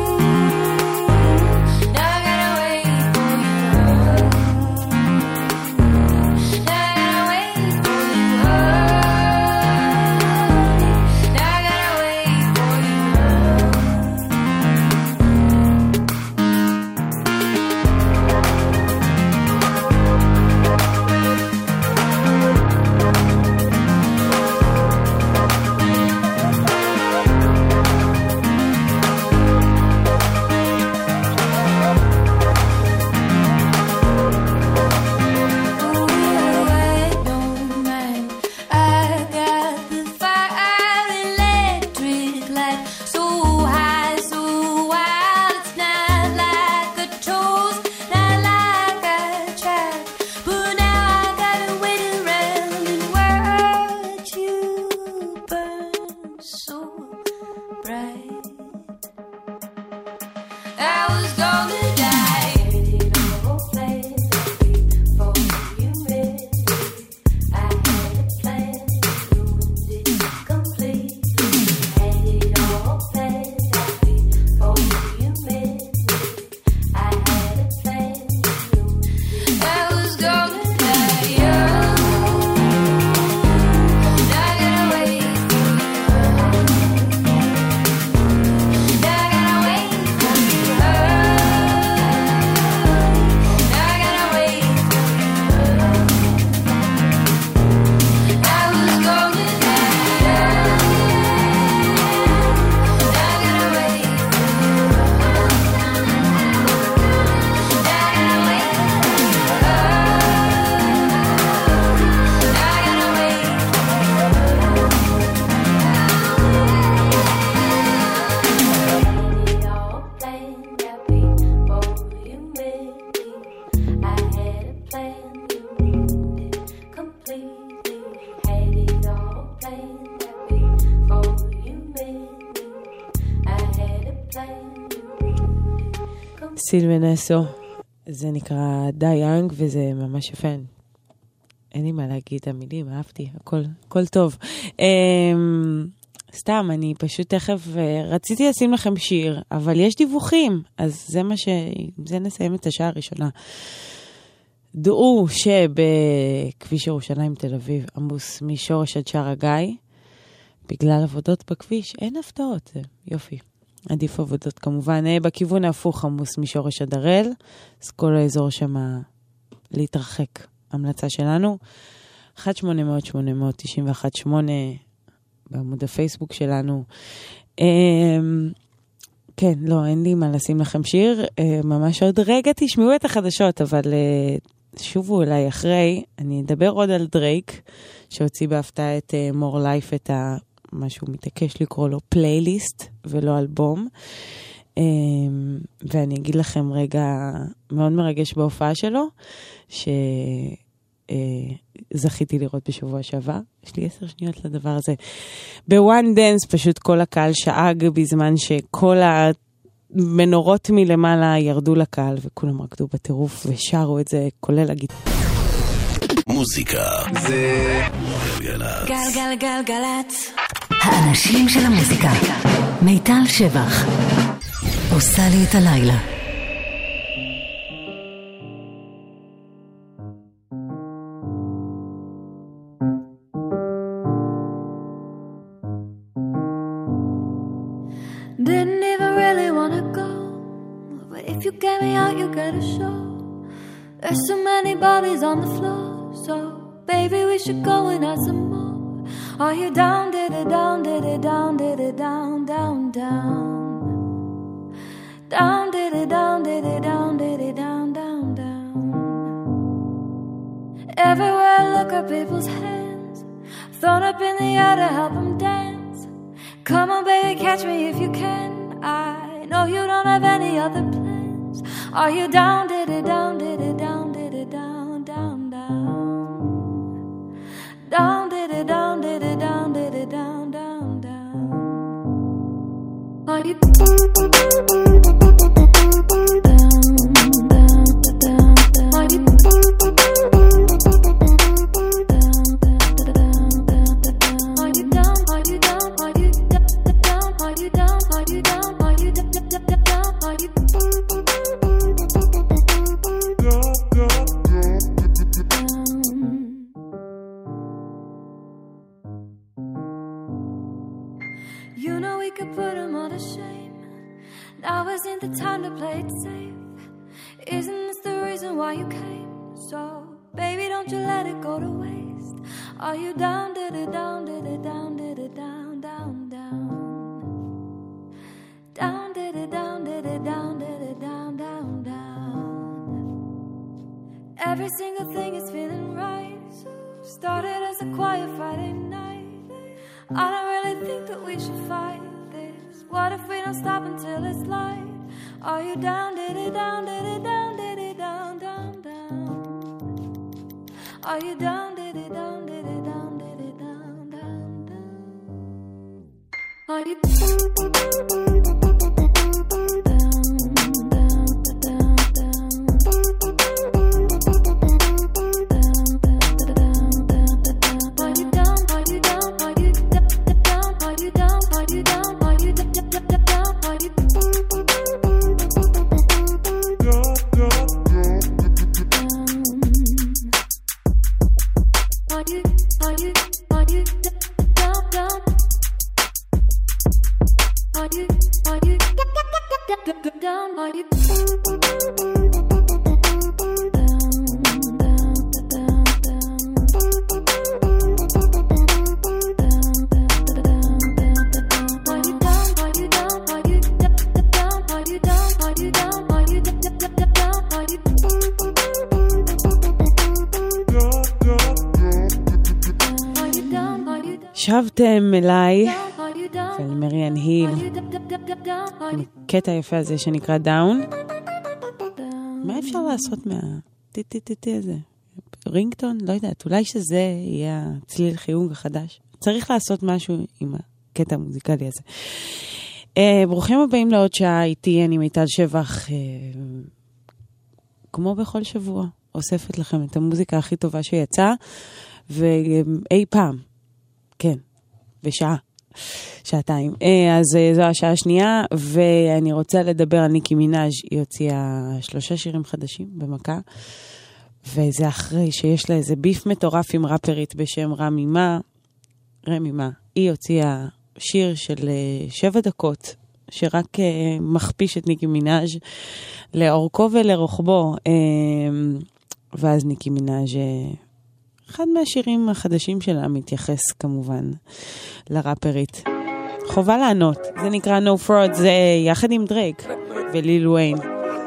Now I gotta wait for you home. Now I gotta wait for you home. Now I gotta wait for you home. סילבנסו, זה נקרא די יאנג, וזה ממש יפה. אין לי מה להגיד, המילים, אהבתי, הכל טוב. סתם, אני פשוט תכף רציתי לשים לכם שיר, אבל יש דיווחים, אז זה נסיים את השעה הראשונה. דעו שבכביש ירושלים תל אביב עמוס משורש עד שער הגיא, בגלל עבודות בכביש, אין הפתעות, יופי. עדיף עבודות כמובן. בכיוון ההפוך עמוס משורש עד הראל, אז כל האזור שם להתרחק. המלצה שלנו, 1-800-891-8 בעמוד הפייסבוק שלנו. כן, לא, אין לי מה לשים לכם שיר. ממש עוד רגע תשמעו את החדשות, אבל שובו אליי אחרי. אני אדבר עוד על דרייק, שהוציא בהפתעה את More Life, את מה שהוא מתעקש לקרוא לו פלייליסט, ולא אלבום. ואני אגיד לכם רגע מאוד מרגש בהופעה שלו, זכיתי לראות בשבוע שעבר. יש לי 10 שניות לדבר הזה. בוואן דנס פשוט כל הקהל שאג בזמן שכל המנורות מלמעלה ירדו לקהל, וכולם רקדו בטירוף ושרו את זה, כולל הגיטרה. מוזיקה זה גלגלצ. גלגלגלגלצ. האנשים של המוזיקה. מיטל שבח עושה לי את הלילה. Didn't even really wanna go, but if you get me out, you get a show. There's so many bodies on the floor, so baby, we should go and have some more. Are you down, did it down, did it down, did it down, down, down. Down, did it down, did it down, did it down, down, down. Everywhere I look at people's hands, thrown up in the air to help them dance. Come on, baby, catch me if you can. I know you don't have any other plans. Are you down, did it down, did it down, did it down, down, down. Down, did it down, did it down, did it down, down, down. Are you down, down, down, down. Are you You know we could put them all to shame. Now isn't the time to play it safe. Isn't this the reason why you came? So, baby, don't you let it go to waste. Are you down, did it down, did it down, did it down, down, down. Down, did it down, did it down, did it down, down, down. Every single thing is feeling right. Started as a quiet Friday night. I don't really think that we should fight this. What if we don't stop until it's light? Are you down, did it down, did it down, did it down, down, down. Are you down, did it down, did it down, did it down, down, down. Are you down, down, down, down. שבתם אליי ואל מריאן היל קטע יפה הזה שנקרא דאון. מה אפשר לעשות מהטי-טי-טי הזה? רינגטון? לא יודעת, אולי שזה יהיה הצליל חיוג החדש. צריך לעשות משהו עם הקטע המוזיקלי הזה. ברוכים הבאים לעוד שעה איתי, אני מיטל שבח, כמו בכל שבוע, אוספת לכם את המוזיקה הכי טובה שיצאה, ואי פעם, כן, בשעה, שעתיים. אז זו השעה השנייה, ואני רוצה לדבר על ניקי מינאז'. היא הוציאה 3 שירים חדשים במכה, וזה אחרי שיש לה איזה ביף מטורף עם רפרית בשם רמי מה. היא הוציאה שיר של 7 דקות, שרק מכפיש את ניקי מינאז' לאורכו ולרוחבו. ואז ניקי מינאז' אחד מהשירים החדשים שלה מתייחס כמובן לרפרית. חובה לענות. זה נקרא No Fraud, זה יחד עם דרייק וליל וויין.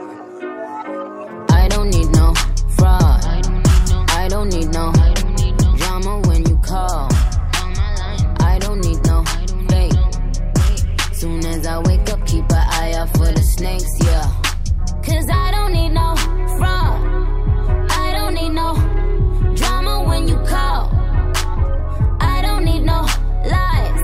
I don't need no fraud. I don't need no drama when you call. I don't need no fake. Soon as I wake up, keep an eye out for the snakes, yeah. 'Cause I don't need no fraud. I don't need no drama when you call. I don't need no lies.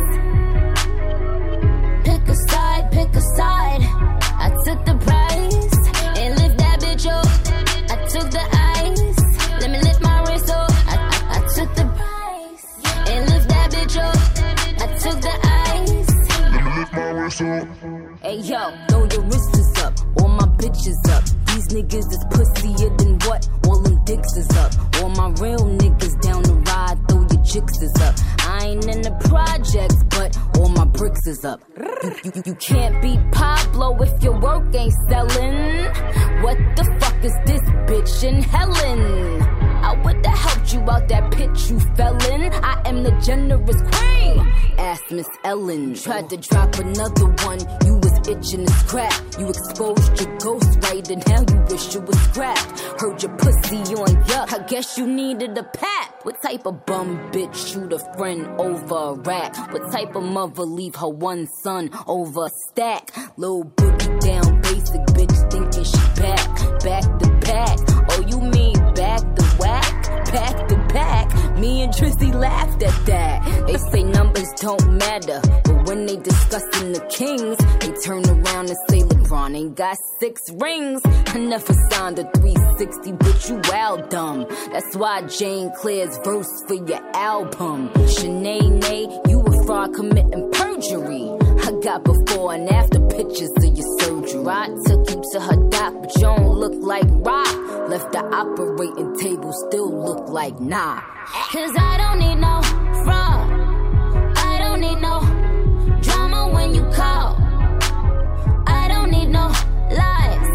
Pick a side. I took the prize and lift that bitch up. I took the ice. Let me lift my wrist up. I took the prize and lift that bitch up. I took the ice. Let me lift my wrist up. Hey yo, throw your wrists up. All my bitches up. These niggas is pussier than what? All them dicks is up. All my real niggas down the ride. Throw your chicks is up. I ain't in the projects, but all my bricks is up. You can't be Pablo if your work ain't selling. What the fuck is this bitch in Helen? I would've helped you out that pit you fell in. I am the generous queen. Ask Miss Ellen. Tried to drop another one. You was itching to scrap. You exposed your ghost right and now you wish you was scrapped. Heard your pussy on yuck. I guess you needed a pap. What type of bum bitch shoot a friend over a rack? What type of mother leave her one son over a stack? Little boogie down basic bitch thinking she back to back. Oh, you mean back to whack? Back to back. Me and Trissy laughed at that. They say numbers don't matter, but when they discussing the Kings, they turn around and say LeBron ain't got 6 rings. I never signed a 360, but you wild dumb. That's why Jane Claire's verse for your album. Shanae, you a fraud committing perjury. I got before and after pictures of your surgery. I took you to her doc, but you don't look like rock. Left the operating table, still look like nah. 'Cause I don't need no fraud. I don't need no drama when you call. I don't need no lies.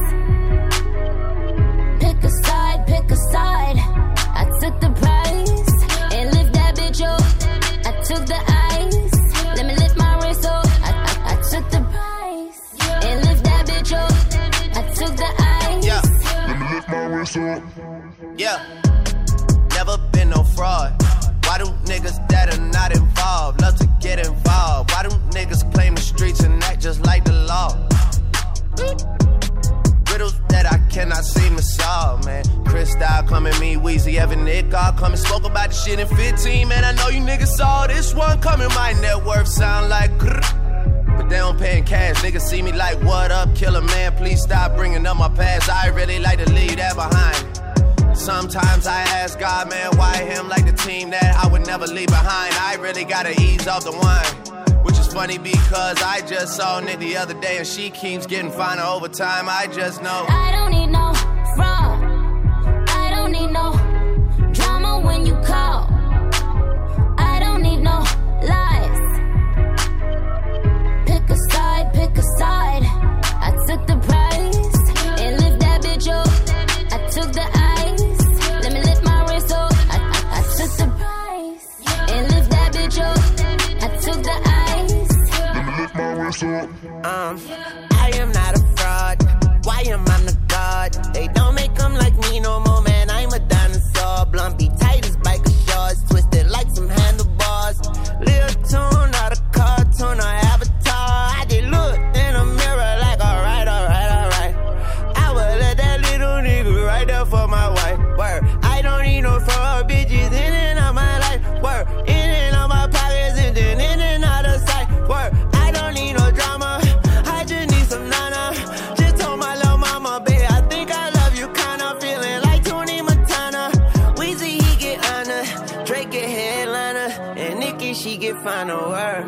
Pick a side. I took the prize and lift that bitch up. I took the ice. Let me lift my wrist up. I took the prize and lift that bitch up. I took the ice. Yeah. Let me lift my wrist up. Yeah. Never been no fraud. Why do niggas that are not involved love to get involved? Why do niggas claim the streets and act just like the law? Riddles that I cannot seem to solve, man. Chris Style coming, me, Weezy, Evan, Nick, all coming. Spoke about the shit in 15, man. I know you niggas saw this one coming. My net worth sound like grrr. But they don't pay in cash. Niggas see me like, what up, killer man? Please stop bringing up my past. I really like to leave that behind. Sometimes I ask God, man, why him like the team that I would never leave behind? I really gotta ease off the wine. Which is funny because I just saw Nick the other day and she keeps getting finer over time. I just know I don't need no fraud. I don't need no drama when you call. I don't need no lies. Pick a side. I took the prize and lift that bitch up. I took the ice. Let me lift my wrist up. I took the prize and lift that bitch up. I took the ice. Let me lift my wrist up. I am not a fraud. Why am I the god? They don't make them like me no more, man. I'm a dinosaur. Blumpy tight as biker shorts, twisted like some handlebars. Little tune, not a cartoon or avatar. I did look in the mirror like alright. I would let that little nigga right there for my wife. Word, I don't need no fraud bitches in and out my life. Word, in and out my pockets and then in and out of sight. Word, I don't need no drama. find a word.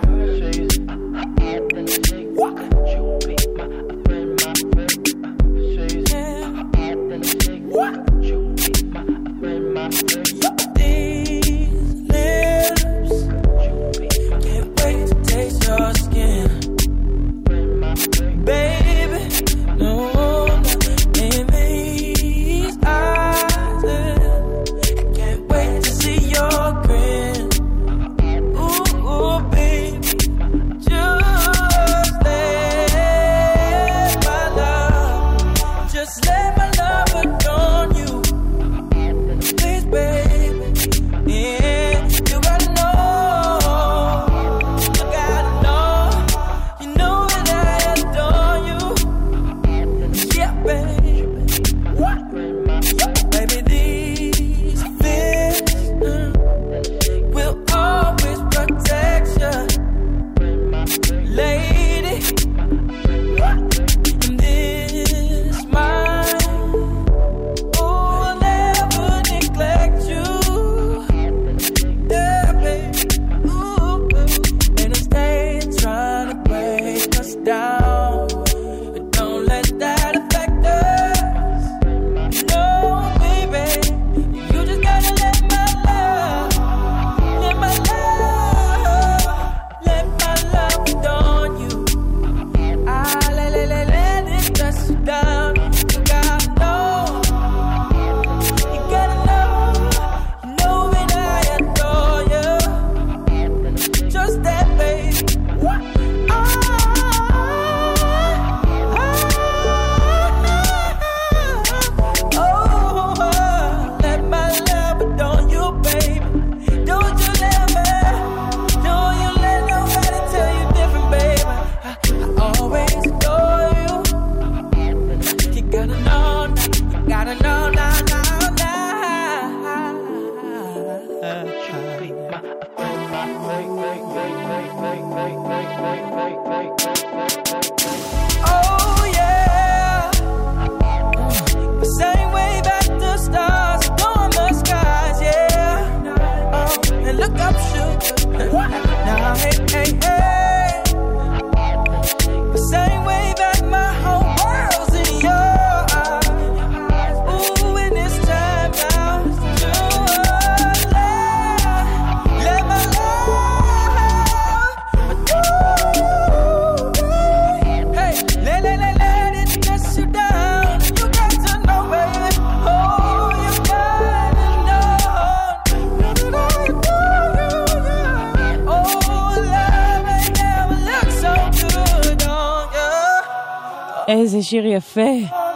איזה שיר יפה.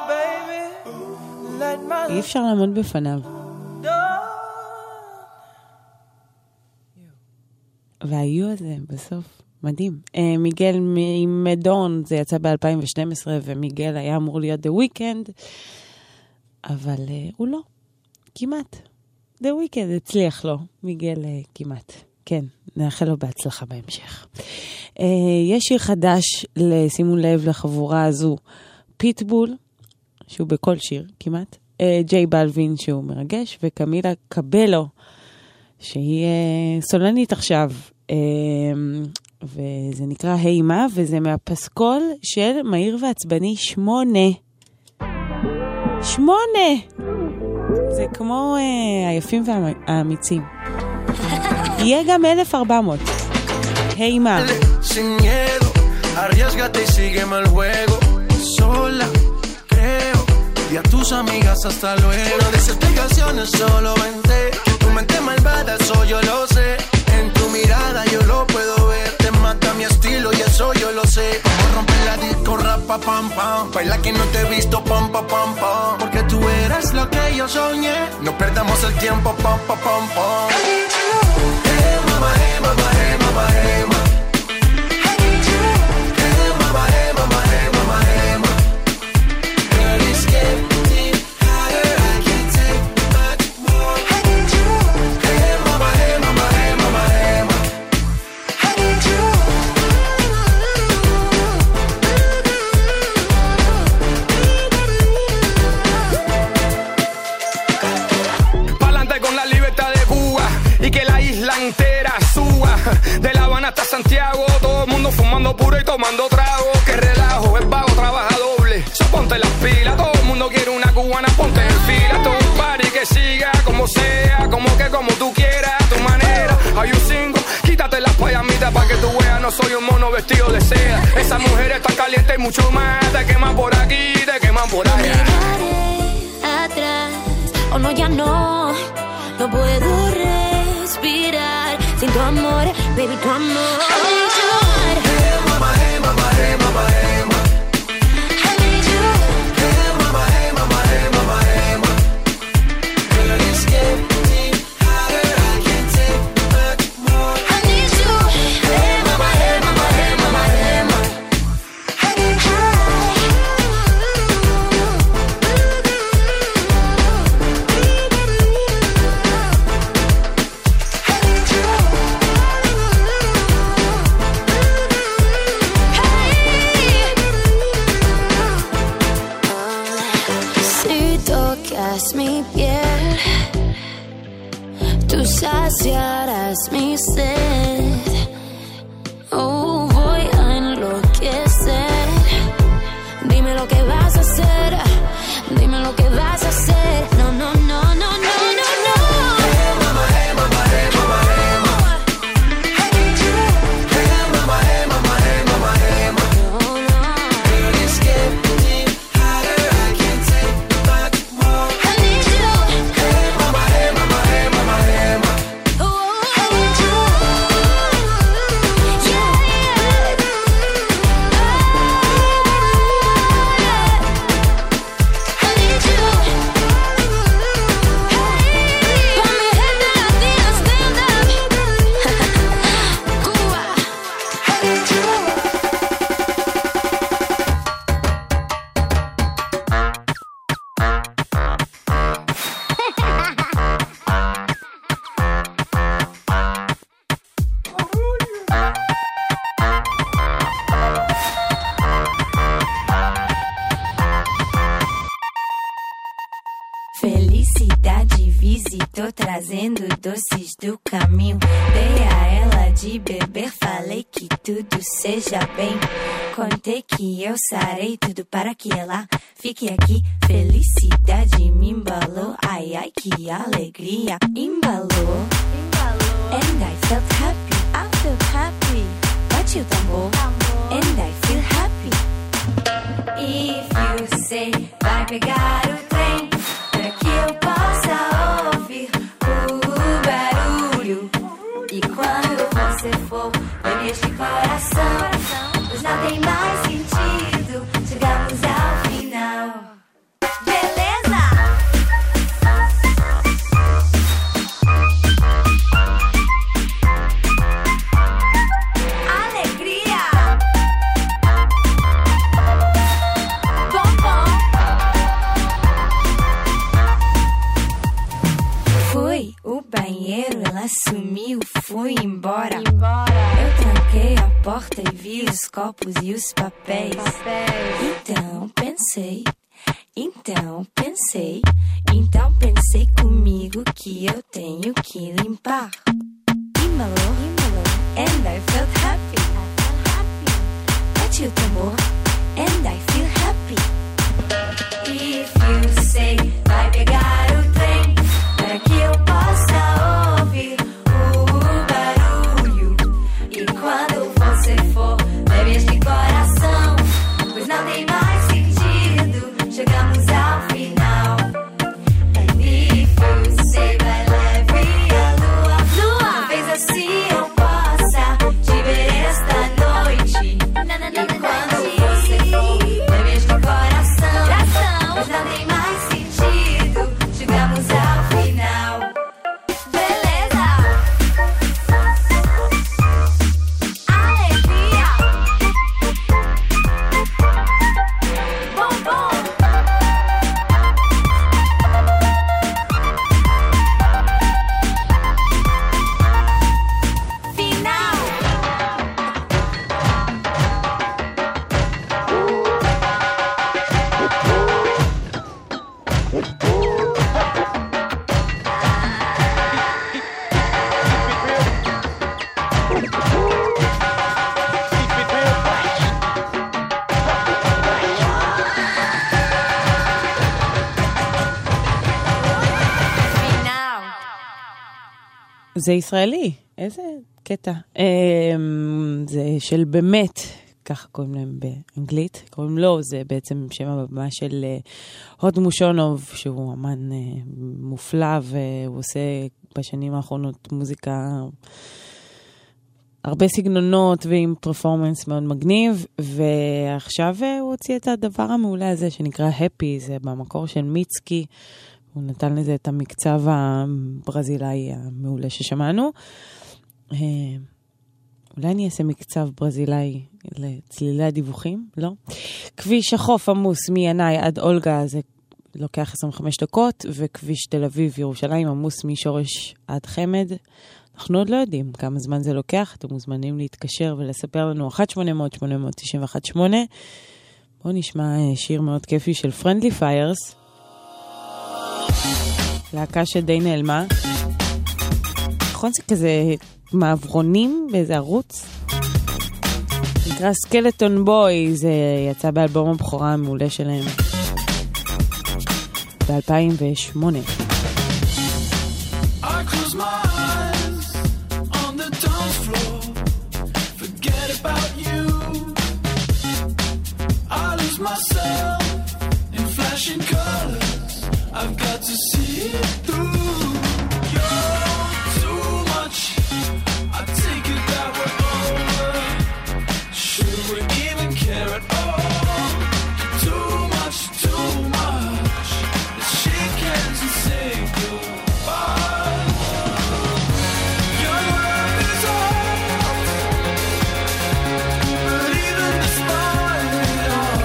אי אפשר לעמוד בפניו. והיו הזה בסוף מדהים. מיגל עם מדון, זה יצא ב-2012, ומיגל היה אמור להיות The Weeknd, אבל הוא לא. כמעט. The Weeknd הצליח לו. מיגל כמעט. כן, נאחל לו בהצלחה בהמשך. יש שיר חדש, שימו לב לחבורה הזו, פיטבול, שהוא בכל שיר כמעט, ג'יי בלווין שהוא מרגש, וקמילה קבלו, שהיא סולנית עכשיו, וזה נקרא הימה, וזה מהפסקול של מהיר ועצבני 8. זה כמו היפים והאמיצים. יהיה גם 1400. הימה. Sin miedo, arriésgate y sígueme el juego. Sola, creo, y a tus amigas hasta luego. No des explicaciones, solo vente. Tu mente malvada, eso yo lo sé. En tu mirada yo lo puedo ver. Te mata mi estilo y eso yo lo sé. Vamos a romper la disco, rapa, pam, pam. Baila que no te he visto, pam, pam, pam, pam. Porque tú eres lo que yo soñé. No perdamos el tiempo, pam, pam, pam, pam. Hey, mama, hey, mama, hey, mama, hey, mama. Entera suba, fumando puro y tomando trago. Que relajo, el vago trabaja doble. So ponte las pilas, todo el mundo quiere una cubana, ponte en fila. Todo un party que siga como sea, como tú quieras, a tu manera. Hay un single, quítate las payamitas pa' que tú veas. No soy un mono vestido de seda. Esa mujer está caliente y mucho más. Te queman por aquí, te queman por allá. Miraré atrás, oh no, ya no. No puedo respirar sin tu amor, baby, tu amor. I need you. Hey mama, hey mama, hey mama, hey mama. I need you. Hey mama, hey mama, hey mama, hey mama. Girl, it's getting hotter, I can't take much more. I need you. Hey mama, hey mama, hey mama, hey mama. I need you. Si tocas mi piel, tú saciarás mi sed. Oh, voy a enloquecer. Dime lo que vas a hacer. Dime lo que vas a hacer. No, no, no, no, no, no, no. Hey mama, hey mama, hey mama, hey mama. I need you. Hey mama, hey mama, hey mama, hey mama. Oh, no. Girl, it's getting hotter, I can't take much more. I need you. Hey mama, hey mama, hey mama, hey mama. Oh, I need you. Yeah, yeah. I need you. Hey, pa' mi gente latina, stand up. Cuba. I need you. Felicidade visitou trazendo doces do caminho. Dei a ela de beber, falei que tudo seja bem. Contei que eu sarei tudo para que ela fique aqui. Felicidade me embalou, ai ai que alegria. Embalou, and I felt happy. I felt happy. Bate o tambor, and I feel happy. If you say vai pegar o trem, para que eu possa ouvir o barulho. E quando você for, bebe este coração, pois não tem mais sentido. Chegamos ao final. Beleza? Alegria. Bom, bom. Fui o banheiro, ela sumiu, fui embora. Eu tranquei a porta e vi os copos e os papéis. Então pensei comigo que eu tenho que limpar. Embalou, and I felt happy. Bate o tambor, and I feel happy. If you say vai pegar o trem, para que eu possa ouvir o barulho. E quando você for, bebe este coração, pois não tem mais sentido. Chegamos ao final. And if you say vai leve a lua, talvez assim eu possa te ver esta noite. E quando você for, bebe este coração, pois não tem mais sentido. Chegamos ao final. Beleza? Alegria. זה ישראלי, איזה קטע. זה של באמת, ככה קוראים להם באנגלית, קוראים לו, זה בעצם שם הבמה של הוד מושונוב, שהוא אמן מופלא, והוא עושה בשנים האחרונות מוזיקה הרבה סגנונות ועם פרפורמנס מאוד מגניב, ועכשיו הוא הוציא את הדבר המעולה הזה שנקרא Happy, זה במקור של מיצקי, הוא נתן לזה את המקצב הברזילאי המעולה ששמענו. אולי אני אעשה מקצב ברזילאי לצלילי הדיווחים? לא. כביש החוף עמוס מינאי עד אולגה, זה לוקח 25 דקות, וכביש תל אביב ירושלים עמוס משורש עד חמד. אנחנו עוד לא יודעים כמה זמן זה לוקח, אתם מוזמנים להתקשר ולספר לנו 1-800-891-8. בואו נשמע שיר מאוד כיפי של Friendly Fires, להקה שדי נעלמה. נכון זה כזה מעברונים באיזה ערוץ? נקרא סקלטון בוי, זה יצא באלבום הבכורה המעולה שלהם ב-2008. Myself in flashing colors, I've got to see it through. You're too much, I take it that we're over. Should we even care at all? Too much, let's shake hands and say goodbye. Your love is all, but even despite it all,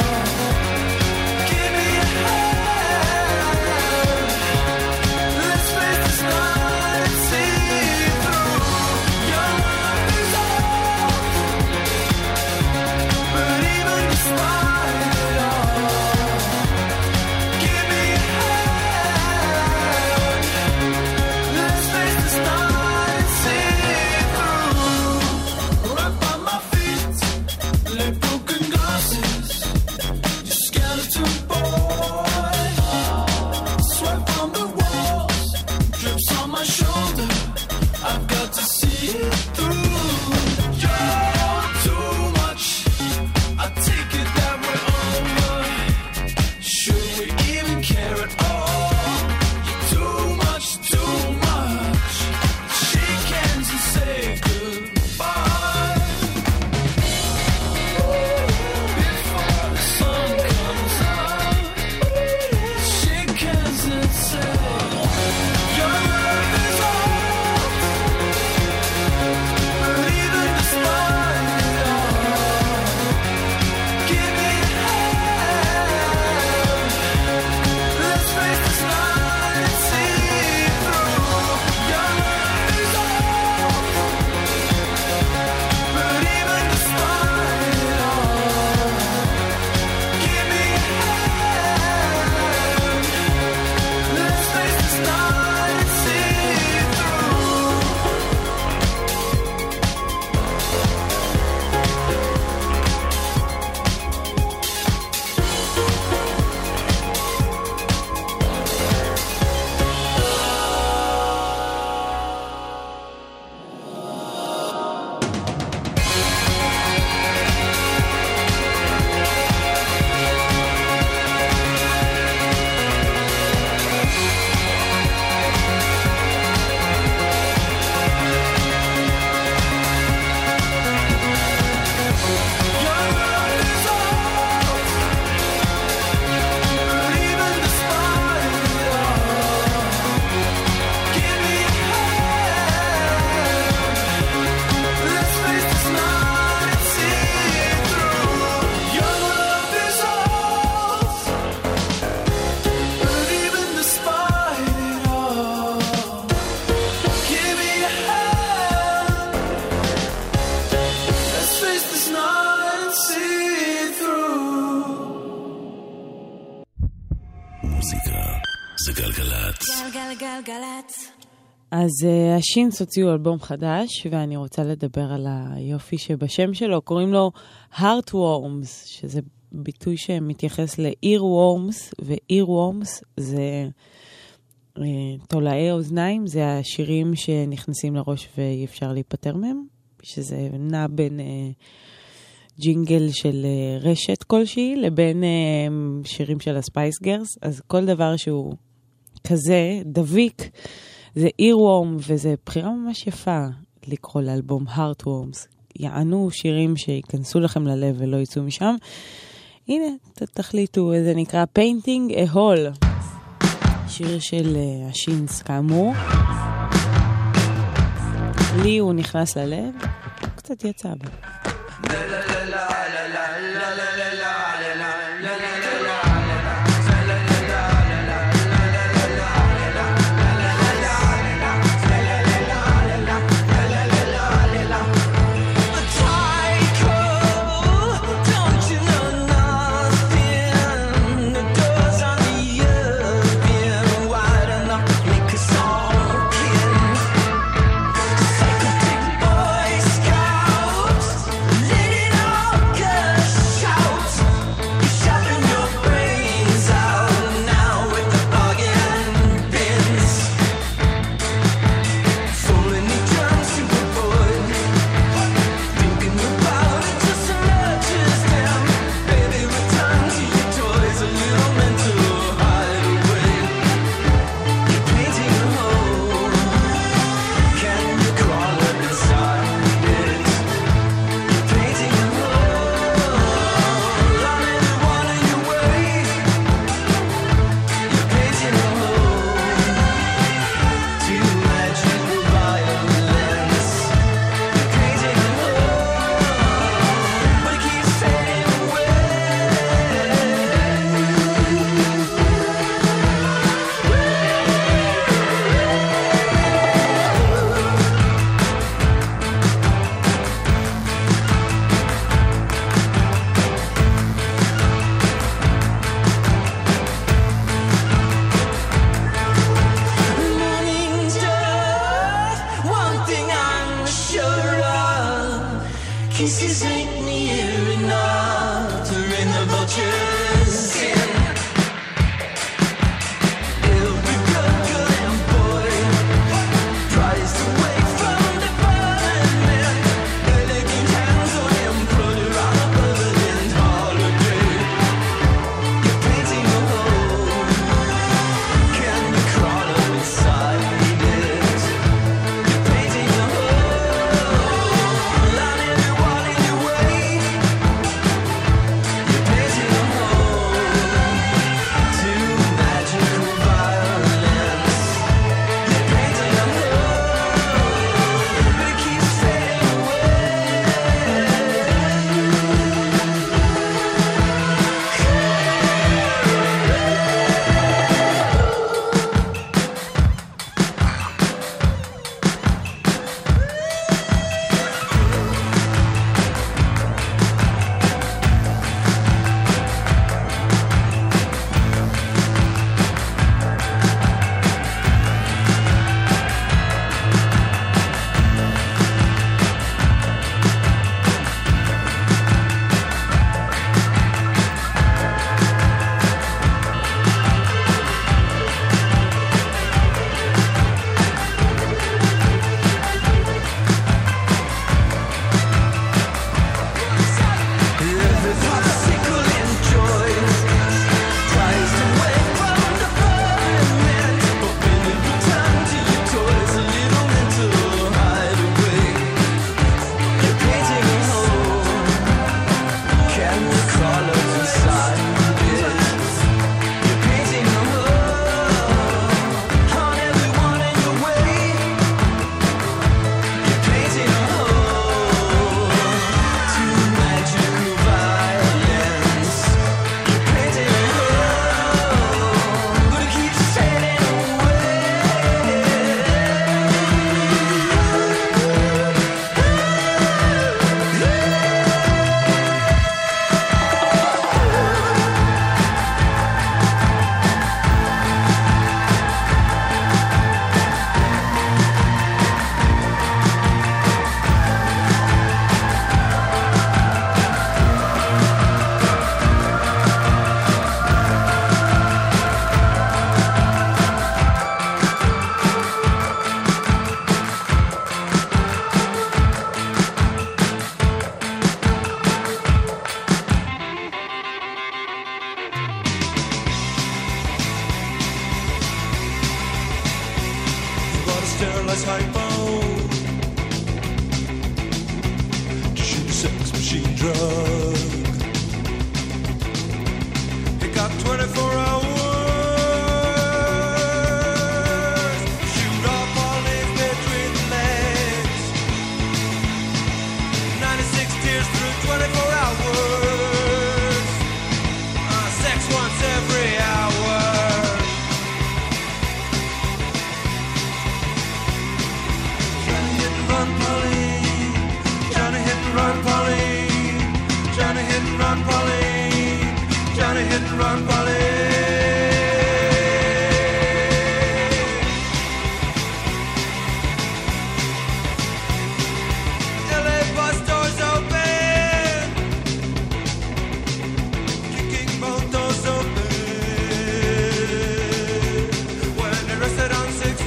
גלגלצ. אז השינס הוציאו אלבום חדש, ואני רוצה לדבר על היופי שבשם שלו, קוראים לו Heartworms, שזה ביטוי שמתייחס ל-earworms, ו-earworms זה תולעי אוזניים זה השירים שנכנסים לראש ואי אפשר להיפטר מהם, שזה נע בין ג'ינגל של רשת כלשהי לבין שירים של הספייס גרס, אז כל דבר שהוא כזה דביק זה אירוורם, וזה בחירה ממש יפה לקרוא לאלבום Heartworms. יענו שירים שיכנסו לכם ללב ולא יצאו משם. הנה, תחליטו, זה נקרא Painting a Hole, שיר של השינס כאמור. לי הוא נכנס ללב, קצת יצא בה. Kisses ain't near enough to ring the vulture's skin. Every girl and boy tries to wake from the burning man. Elegant hands on him, put her on a permanent holiday. You're painting a hole. Can you crawl up inside it? You're painting a hole. Line everyone in your way. You're painting a hole. machine drug. He got 24 hours. Shoot off all his between the legs. 96 tears through 24 hours. Sex once every hour. Johnny hit and run, Pauline. Johnny hit and run, Pauline. Johnny hit and run, Pauline. Johnny hit and run, Pauline. LA bus doors open. Kicking both doors open. When arrested on 6th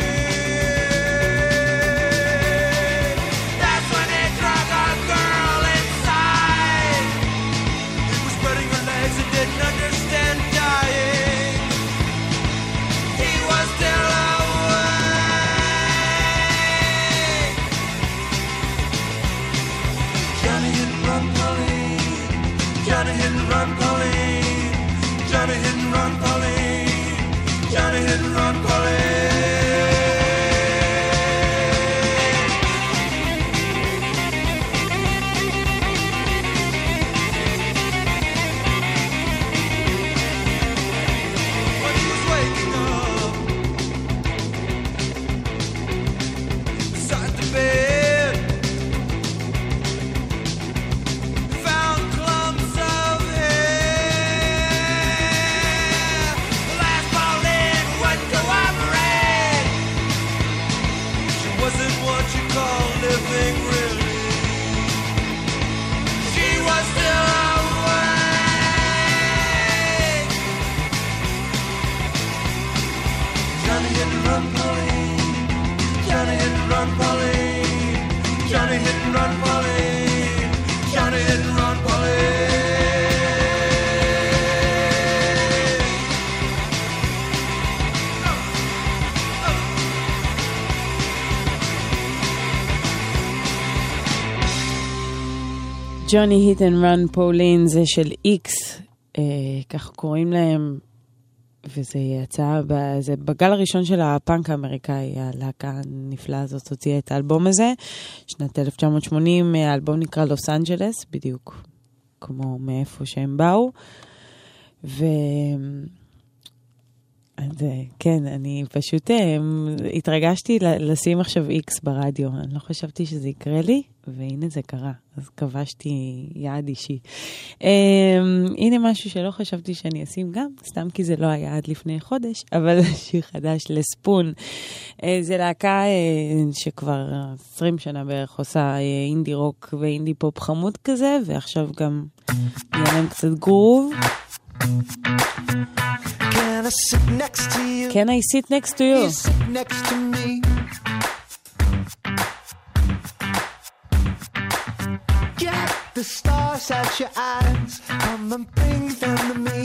Street. That's when they drug a girl inside. He was spreading her legs and didn't understand dying. He was still awake. Johnny hit and run, Pauline. Johnny hit and run, Pauline. Johnny hit and run, Pauline. Johnny hit and run, Pauline. When he was waking up beside the bed, he found clumps of hair. The last Pauline wouldn't cooperate. She wasn't what you call living, really. She was still awake. Johnny hit and run, Pauline. Johnny hit and run, Pauline. Johnny hit and run, Pauline. Johnny hit and run, Pauline. ג'וני היט אנד רן פולין זה של איקס, כך קוראים להם, וזה יצא זה בגל הראשון של הפאנק האמריקאי. הלהקה הנפלאה הזאת הוציאה את האלבום הזה, שנת 1980, האלבום נקרא לוס אנג'לס, בדיוק כמו מאיפה שהם באו. כן, אני פשוט התרגשתי לשים עכשיו איקס ברדיו. אני לא חשבתי שזה יקרה לי, והנה זה קרה. אז כבשתי יעד אישי. הנה משהו שלא חשבתי שאני אשים גם, סתם כי זה לא היה עד לפני חודש, אבל שיר חדש לספון. זה להקה שכבר 20 שנה בערך עושה אינדי רוק ואינדי פופ חמוד כזה, ועכשיו גם יהיה להם קצת גרוב. Can I sit next to you? Can I sit next to you? You sit next to me. Get the stars out your eyes. Come and bring them to me.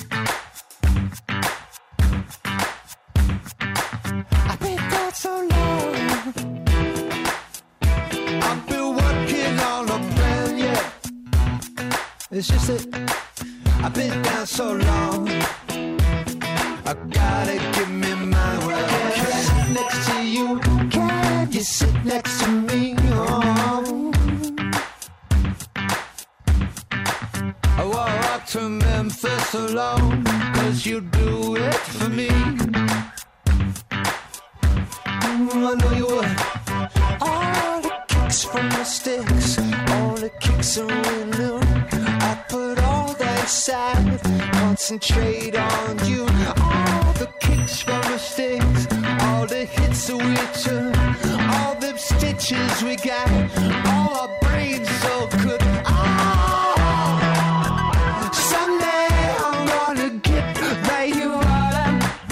I've been gone so long. I've been working on a plan, yeah. It's just that I've been down so long. I gotta give me my word. Can I sit next to you? Can you sit next to me? Oh. I walk to Memphis alone, 'cause you do it for me. I know you would. All the kicks from the sticks, all the kicks are winning. I put all that aside, concentrate on you. All the kicks from the sticks, all the hits that we took, all the stitches we got, all our brains so good. Someday I'm gonna get where you are.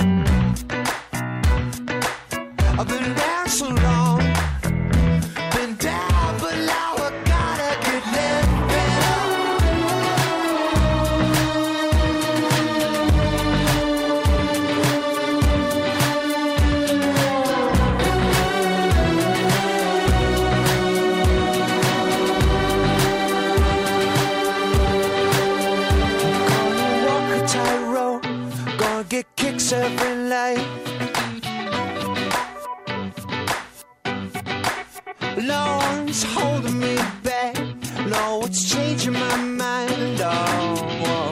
I've been down so long, been down, but now I gotta get there. know what's changing my mind. Oh,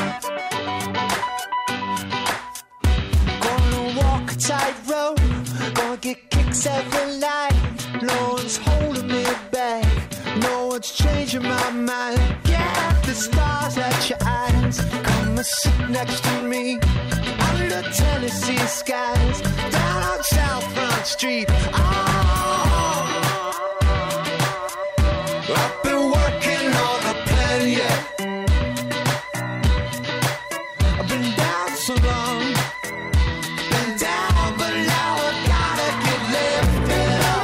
gonna walk a tightrope, gonna get kicks every night. No one's holding me back, no one's changing my mind. Yeah, the stars at your eyes, come and sit next to me under Tennessee skies, down on South Front Street. Oh, I've been working on a plan, yeah. I've been down so long, been down, but now I gotta get lifted up.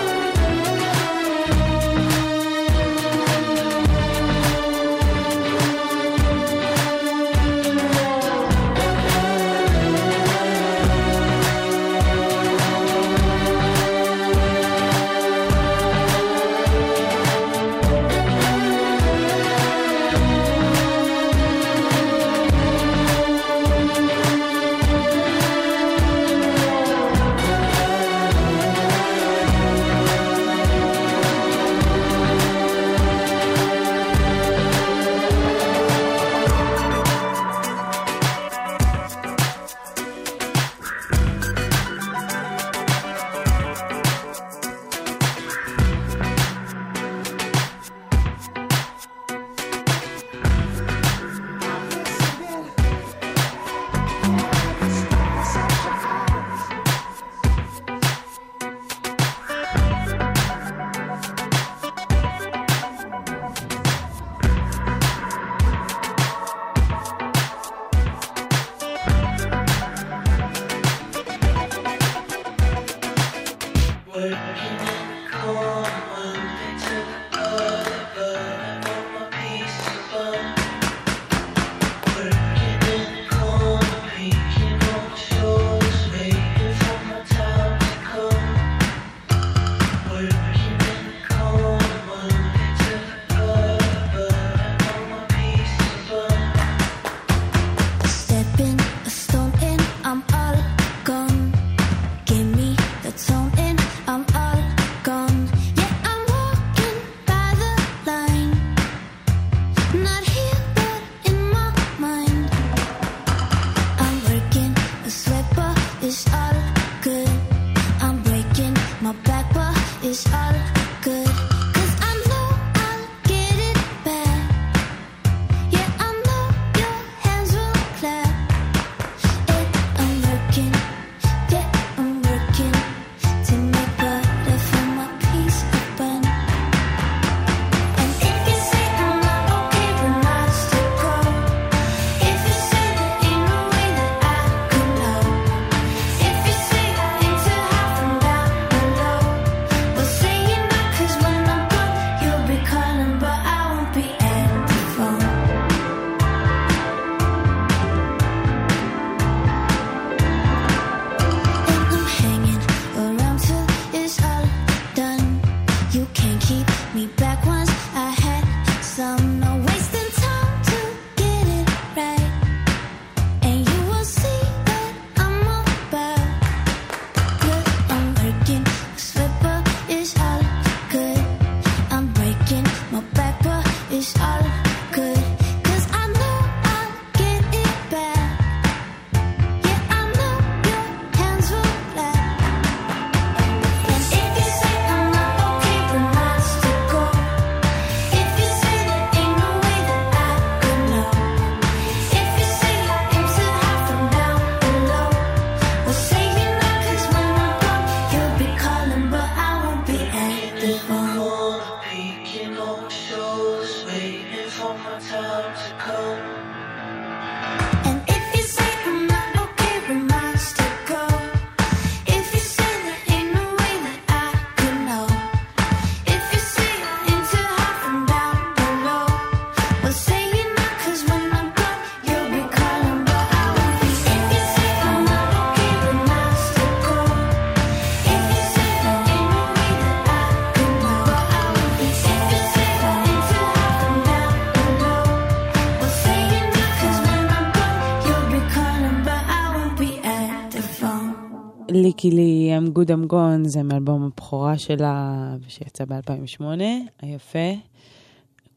ליקי לי, I'm good I'm gone, זה מאלבום הבכורה שלה שיצא ב-2008, היפה.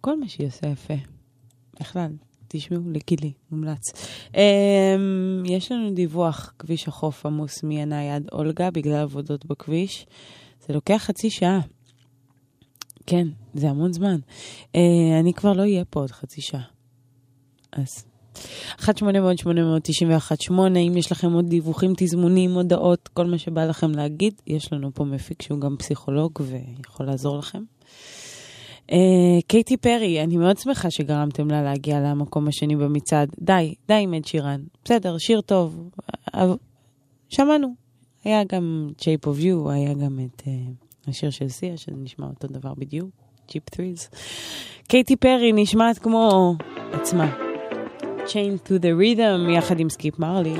כל מה שהיא עושה יפה. בכלל, תשמעו, לגילי, מומלץ. יש לנו דיווח, כביש החוף עמוס מעיני עד אולגה, בגלל עבודות בכביש. זה לוקח חצי שעה. כן, זה המון זמן. אני כבר לא אהיה פה עוד חצי שעה. אז 1-800-891-8, אם יש לכם עוד דיווחים, תזמונים, הודעות, כל מה שבא לכם להגיד, יש לנו פה מפיק שהוא גם פסיכולוג ויכול לעזור לכם. קייטי פרי, אני מאוד שמחה שגרמתם לה להגיע למקום השני במצעד. די עם אד שירן. בסדר, שיר טוב. שמענו. היה גם Shape of You, היה גם את השיר של סיה, שנשמע אותו דבר בדיוק. Cheap Thrills. קייטי פרי נשמעת כמו עצמה. Chain to the Rhythm, יחד עם סקיפ מרלי.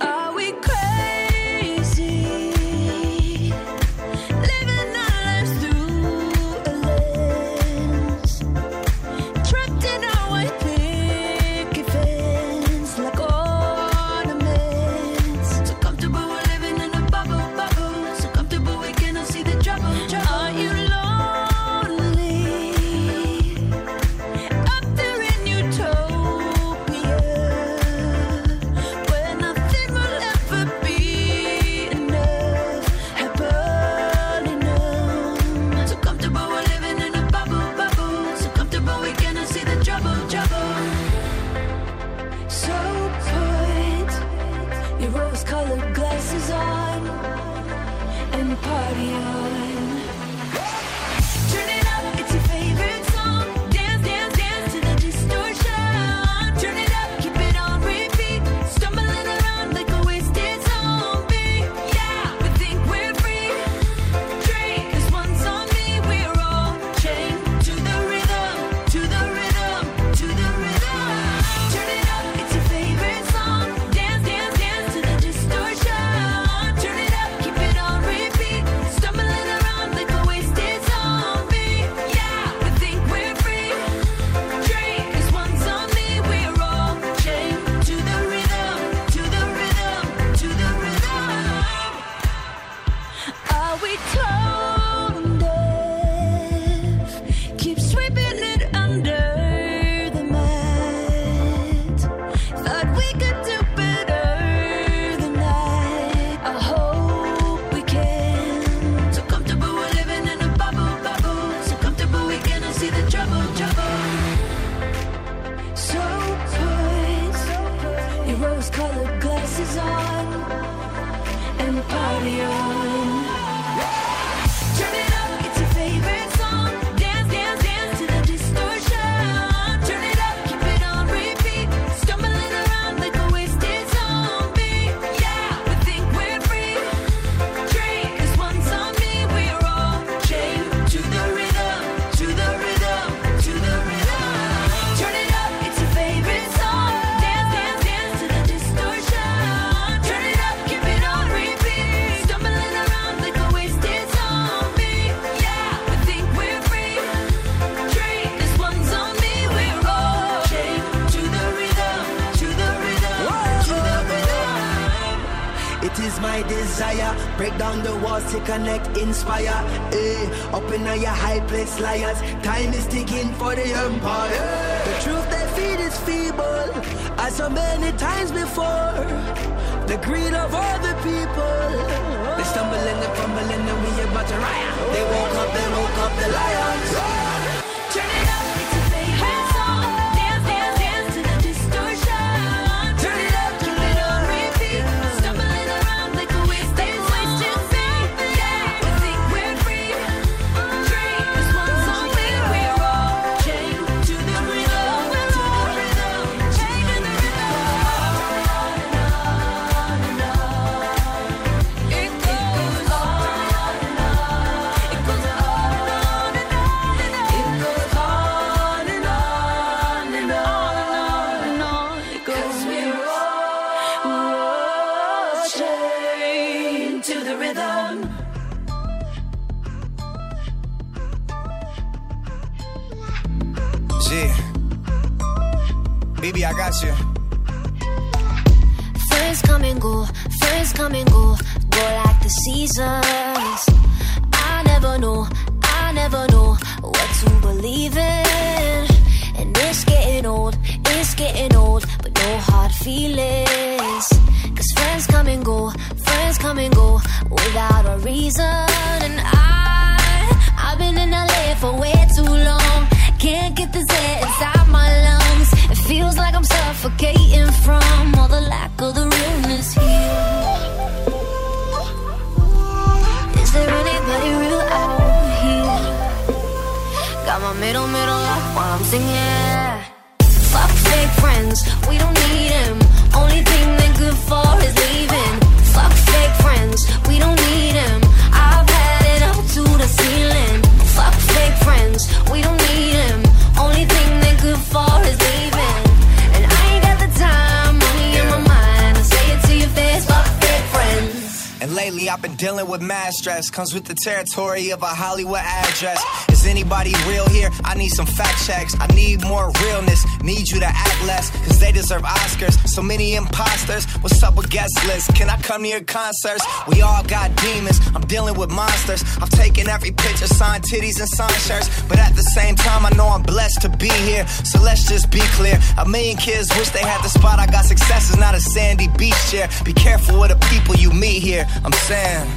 Break down the walls to connect, inspire. Up in your high place, liars. Time is ticking for the empire. The truth they feed is feeble, as so many times before. The greed of all the people. They stumble and they fumble and then we about to riot. They woke up the lions. Turn it up, it's a favorite song. Dance, dance, dance to the distortion. Turn it up, keep it on repeat. Stumbling around like a wasted song. Yeah, we think we're free. Drink, this one's on me. We're all chained to the rhythm, to the rhythm, chained to the rhythm. On and on and on. It goes on and on. It goes on and on and on. It goes on and on and on and on. It goes, we're all chained to the rhythm. Yeah. Baby, I got you. Friends come and go, friends come and go, go like the seasons. I never know what to believe in. feelings. Cause friends come and go without a reason. And I've been in LA for way too long. Can't get this air inside my lungs. It feels like I'm suffocating from all the lack of the realness here. Is there anybody real out here? Got my middle life while I'm singing. Fuck fake friends, we don't need them. Only thing they're good for is leaving. Fuck fake friends, we don't need them. I've had it up to the ceiling. Fuck fake friends, we don't need them. Only thing they're good for is leaving. And I ain't got the time, money in my mind. I say it to your face, fuck fake friends. And lately I've been dealing with mad stress. Comes with the territory of a Hollywood address. Is anybody real here? I need some fact checks. I need more realness. Need you to act less, cause they deserve Oscars. So many imposters. What's up with guest lists? Can I come to your concerts? We all got demons. I'm dealing with monsters. I've taken every picture, signed titties and signed shirts. But at the same time I know I'm blessed to be here. So let's just be clear. A million kids wish they had the spot. I got success is not a sandy beach chair. Be careful with the people you meet here. I'm saying,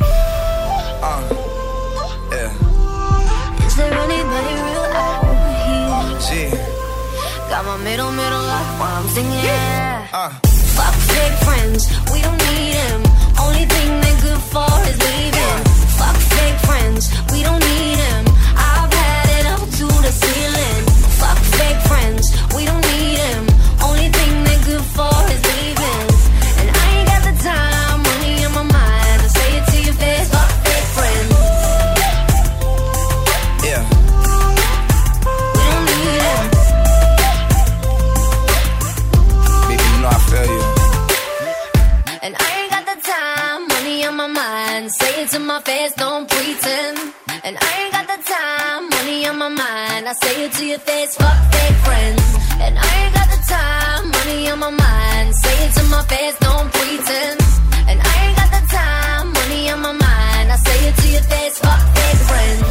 yeah. Is there anybody real out here? Gee. Got my middle life while I'm singing. Fuck fake friends, we don't need them. Only thing they're good for is leaving. Fuck fake friends, we don't need them. I've had it up to the ceiling. Fuck fake friends, we don't need them. Only thing they're good for is leaving. And I ain't got the time, money on my mind. I say it to your face, fuck fake friends. Yeah. We don't need them. Baby, you know I feel you. And I ain't got the time, money on my mind. Say it to my face, don't pretend. And I ain't got the time, money on my mind. I say it to your face, fuck fake friends. And I ain't got the time, money on my mind. Say it to my face, don't pretend. And I ain't got the time, money on my mind. I say it to your face, fuck fake friends.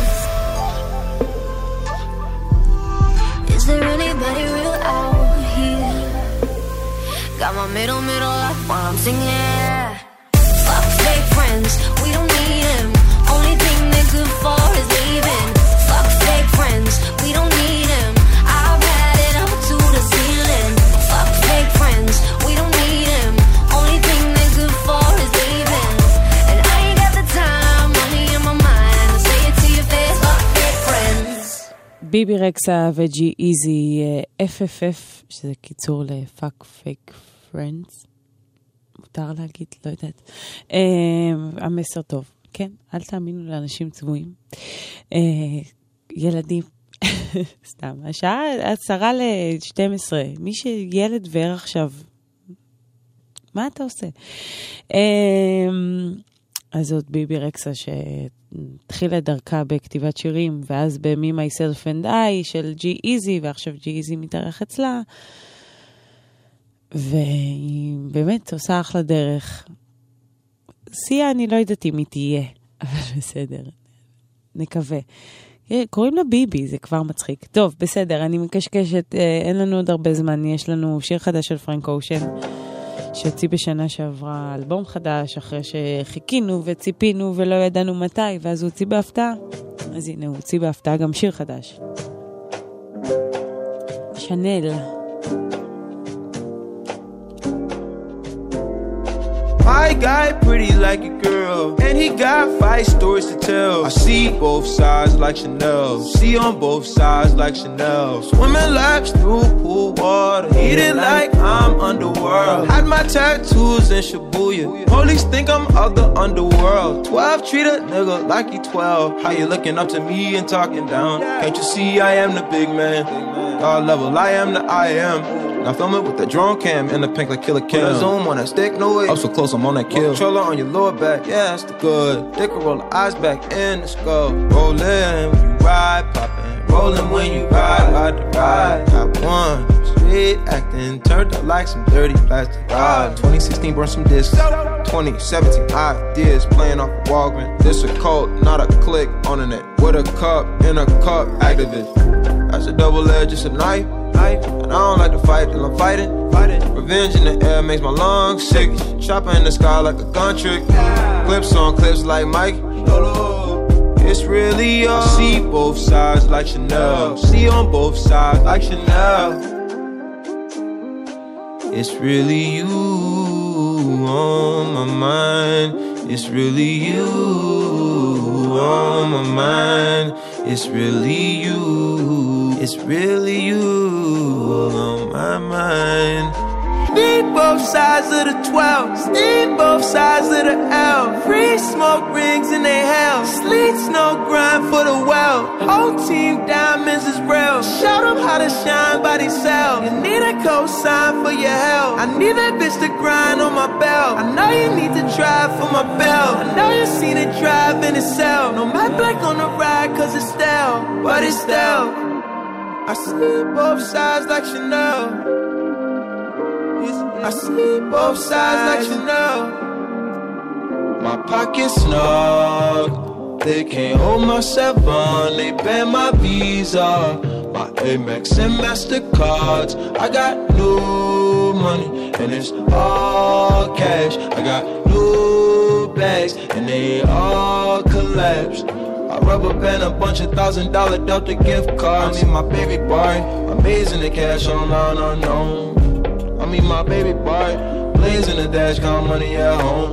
Is there anybody real out here? Got my middle life while I'm singing. Fuck fake friends, we don't need them. Only thing they're good for is leaving. Fuck fake friends, we don't need them. I've had it up to the ceiling. Fuck fake friends, we don't need them. Only thing they're good for is leaving. And I ain't got the time, money in my mind. I say it to your face, fuck fake friends. ביבי רקסה וג'י איזי, FFF, שזה קיצור לפאק פייק פרנדס. מותר להגיד, לא יודעת. המסר טוב, כן? אל תאמינו לאנשים צבועים. ילדים, סתם, השעה 11:50. מי שילד וער עכשיו, מה אתה עושה? אז זאת ביבי רקסה שהתחילה דרכה בכתיבת שירים, ואז ב-Me, Myself and I של ג'י איזי, ועכשיו ג'י איזי מתארח אצלה, והיא באמת עושה אחלה דרך. סיה, אני לא יודעת אם היא תהיה, אבל בסדר, נקווה. קוראים לה ביבי, זה כבר מצחיק. טוב, בסדר, אני מקשקשת, אין לנו עוד הרבה זמן, יש לנו שיר חדש של פרנק אושן, שהוציא בשנה שעברה אלבום חדש, אחרי שחיכינו וציפינו ולא ידענו מתי, ואז הוא הוציא בהפתעה. אז הנה, הוא הוציא בהפתעה גם שיר חדש. שנל. My guy pretty like a girl, and he got 5 stories to tell. I see both sides like Chanel, see on both sides like Chanel. Swimming laps through pool water, eating like I'm underworld. Had my tattoos in Shibuya, police think I'm of the underworld. 12 treat a nigga like he 12. How you looking up to me and talking down? Can't you see I am the big man? God level, I am the I am. Now film it with the drone cam in the pink like Killer Kim. Put a zoom on that stick, no way. Up so close, I'm on that kill. Controller on your lower back, yeah, that's the good. Dick will roll the eyes back in the skull. Rollin' when you ride, poppin'. Rollin' when you ride to ride. Top one, street acting, turned up like some dirty plastic rod. 2016 burned some discs. 2017 ideas playing off of Walgreens. This a cult, not a click on the net. With a cup in a cup, activist. That's a double edge, it's a knife. knife, and I don't like to fight till I'm fighting. Revenge in the air makes my lungs sick. Chopper in the sky like a gun trick. Clips on clips like Mike. It's really all. I see both sides like Chanel. See on both sides like Chanel. It's really you on my mind. It's really you on my mind. It's really you. It's really you on my mind. Need both sides of the 12. Need both sides of the L. Free smoke rings in they hell. Sleets no grind for the well. Whole team diamonds is real. Show them how to shine by themselves. You need a cosign for your help. I need that bitch to grind on my belt. I know you need to drive for my belt. I know you seen it drive in itself. No matte black on the ride cause it's stale. But it's stale. I see both sides like Chanel. I see both sides like Chanel. My pocket's snug. They can't hold my 7. They ban my Visa, my Amex and MasterCards. I got new money and it's all cash. I got new bags and they all collapsed. I rubber band a bunch of $1,000 Delta gift cards. I mean my baby boy, amazing the cash online unknown. I mean my baby boy, blazing the dash, count money at home.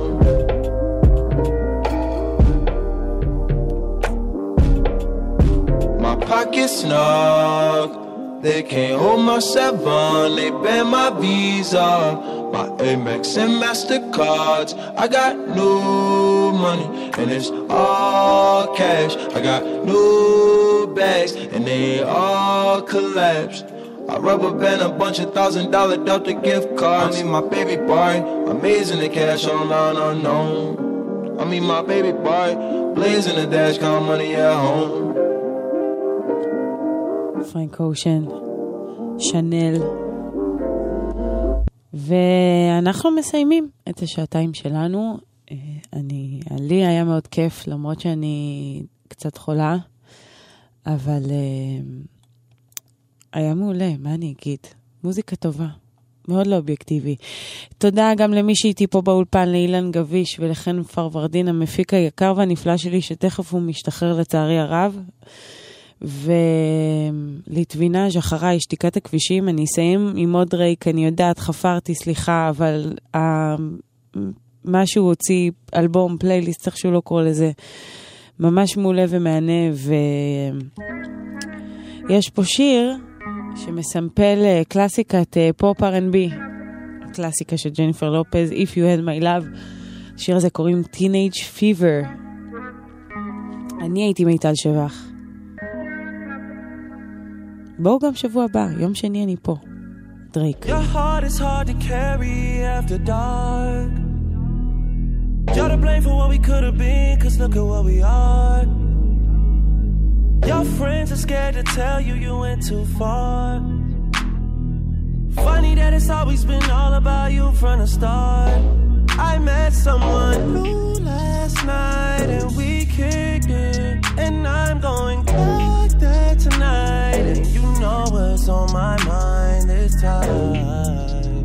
My pocket's snug. They can't hold my 7. They ban my Visa, my Amex and MasterCards. I got new money and it's all cash. I got new bags and they all collapsed. I rubber band a bunch of $1,000 Delta gift cards. I mean my baby boy, amazing the cash online unknown. I mean my baby boy, blazing the dash, count money at home. פרנק אושן, שנל, ואנחנו מסיימים את השעתיים שלנו. לי היה מאוד כיף, למרות שאני קצת חולה, אבל היה מעולה, מה אני אגיד? מוזיקה טובה, מאוד לא אובייקטיבי. תודה גם למי שהייתי פה באולפן, לאילן גביש ולחן פרוורדין, המפיק היקר והנפלא שלי, שתכף הוא משתחרר לצערי הרב. ולטווינאז' אחריי, שתיקת הכבישים. אני אסיים עם עוד רייק, אני יודעת, חפרתי, סליחה, אבל משהו הוציא אלבום, פלייליסט, צריך שהוא לא קורא לזה, ממש מעולה ומענה. ויש פה שיר שמסמפל קלאסיקת פופ R&B, קלאסיקה של ג'ניפר לופז, If You Had My Love. השיר הזה קוראים Teenage Fever. אני הייתי מיטל שבח. בואו גם שבוע הבא, יום שני אני פה. דרייק. Your heart is hard to carry after dark. You're to blame for what we could have been, cause look at what we are. Your friends are scared to tell you you went too far. Funny that it's always been all about you from the start. I met someone new last night and we kicked it, and I'm going back there tonight, and you know what's on my mind this time.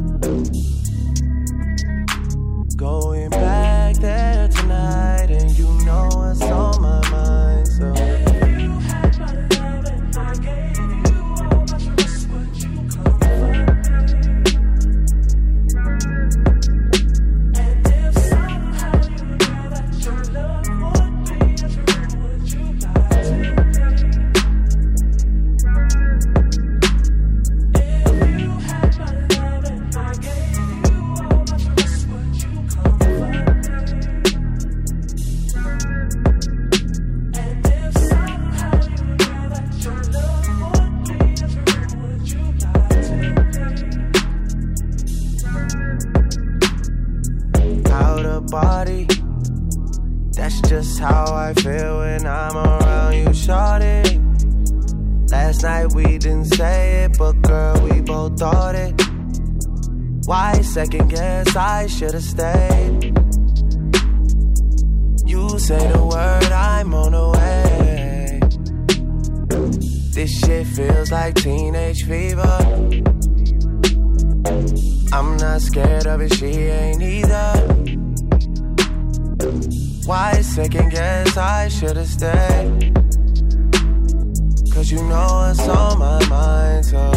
Going back there tonight, and you know what's on my mind. So you had my love and I gave you all my trust, but you couldn't. And if somehow you knew that your love would be true, would you lie to me? If you had my love and I gave you all my trust, would you comfort me? And if somehow you knew that your love would be true, would you lie to me? Out of body, that's just how I feel when I'm around you, shawty. Last night we didn't say it, but girl, we both thought it. Why second guess? I should've stayed. You say the word, I'm on the way. This shit feels like teenage fever. I'm not scared of it, she ain't either. Why second guess I should've stayed? Cause you know what's on my mind, so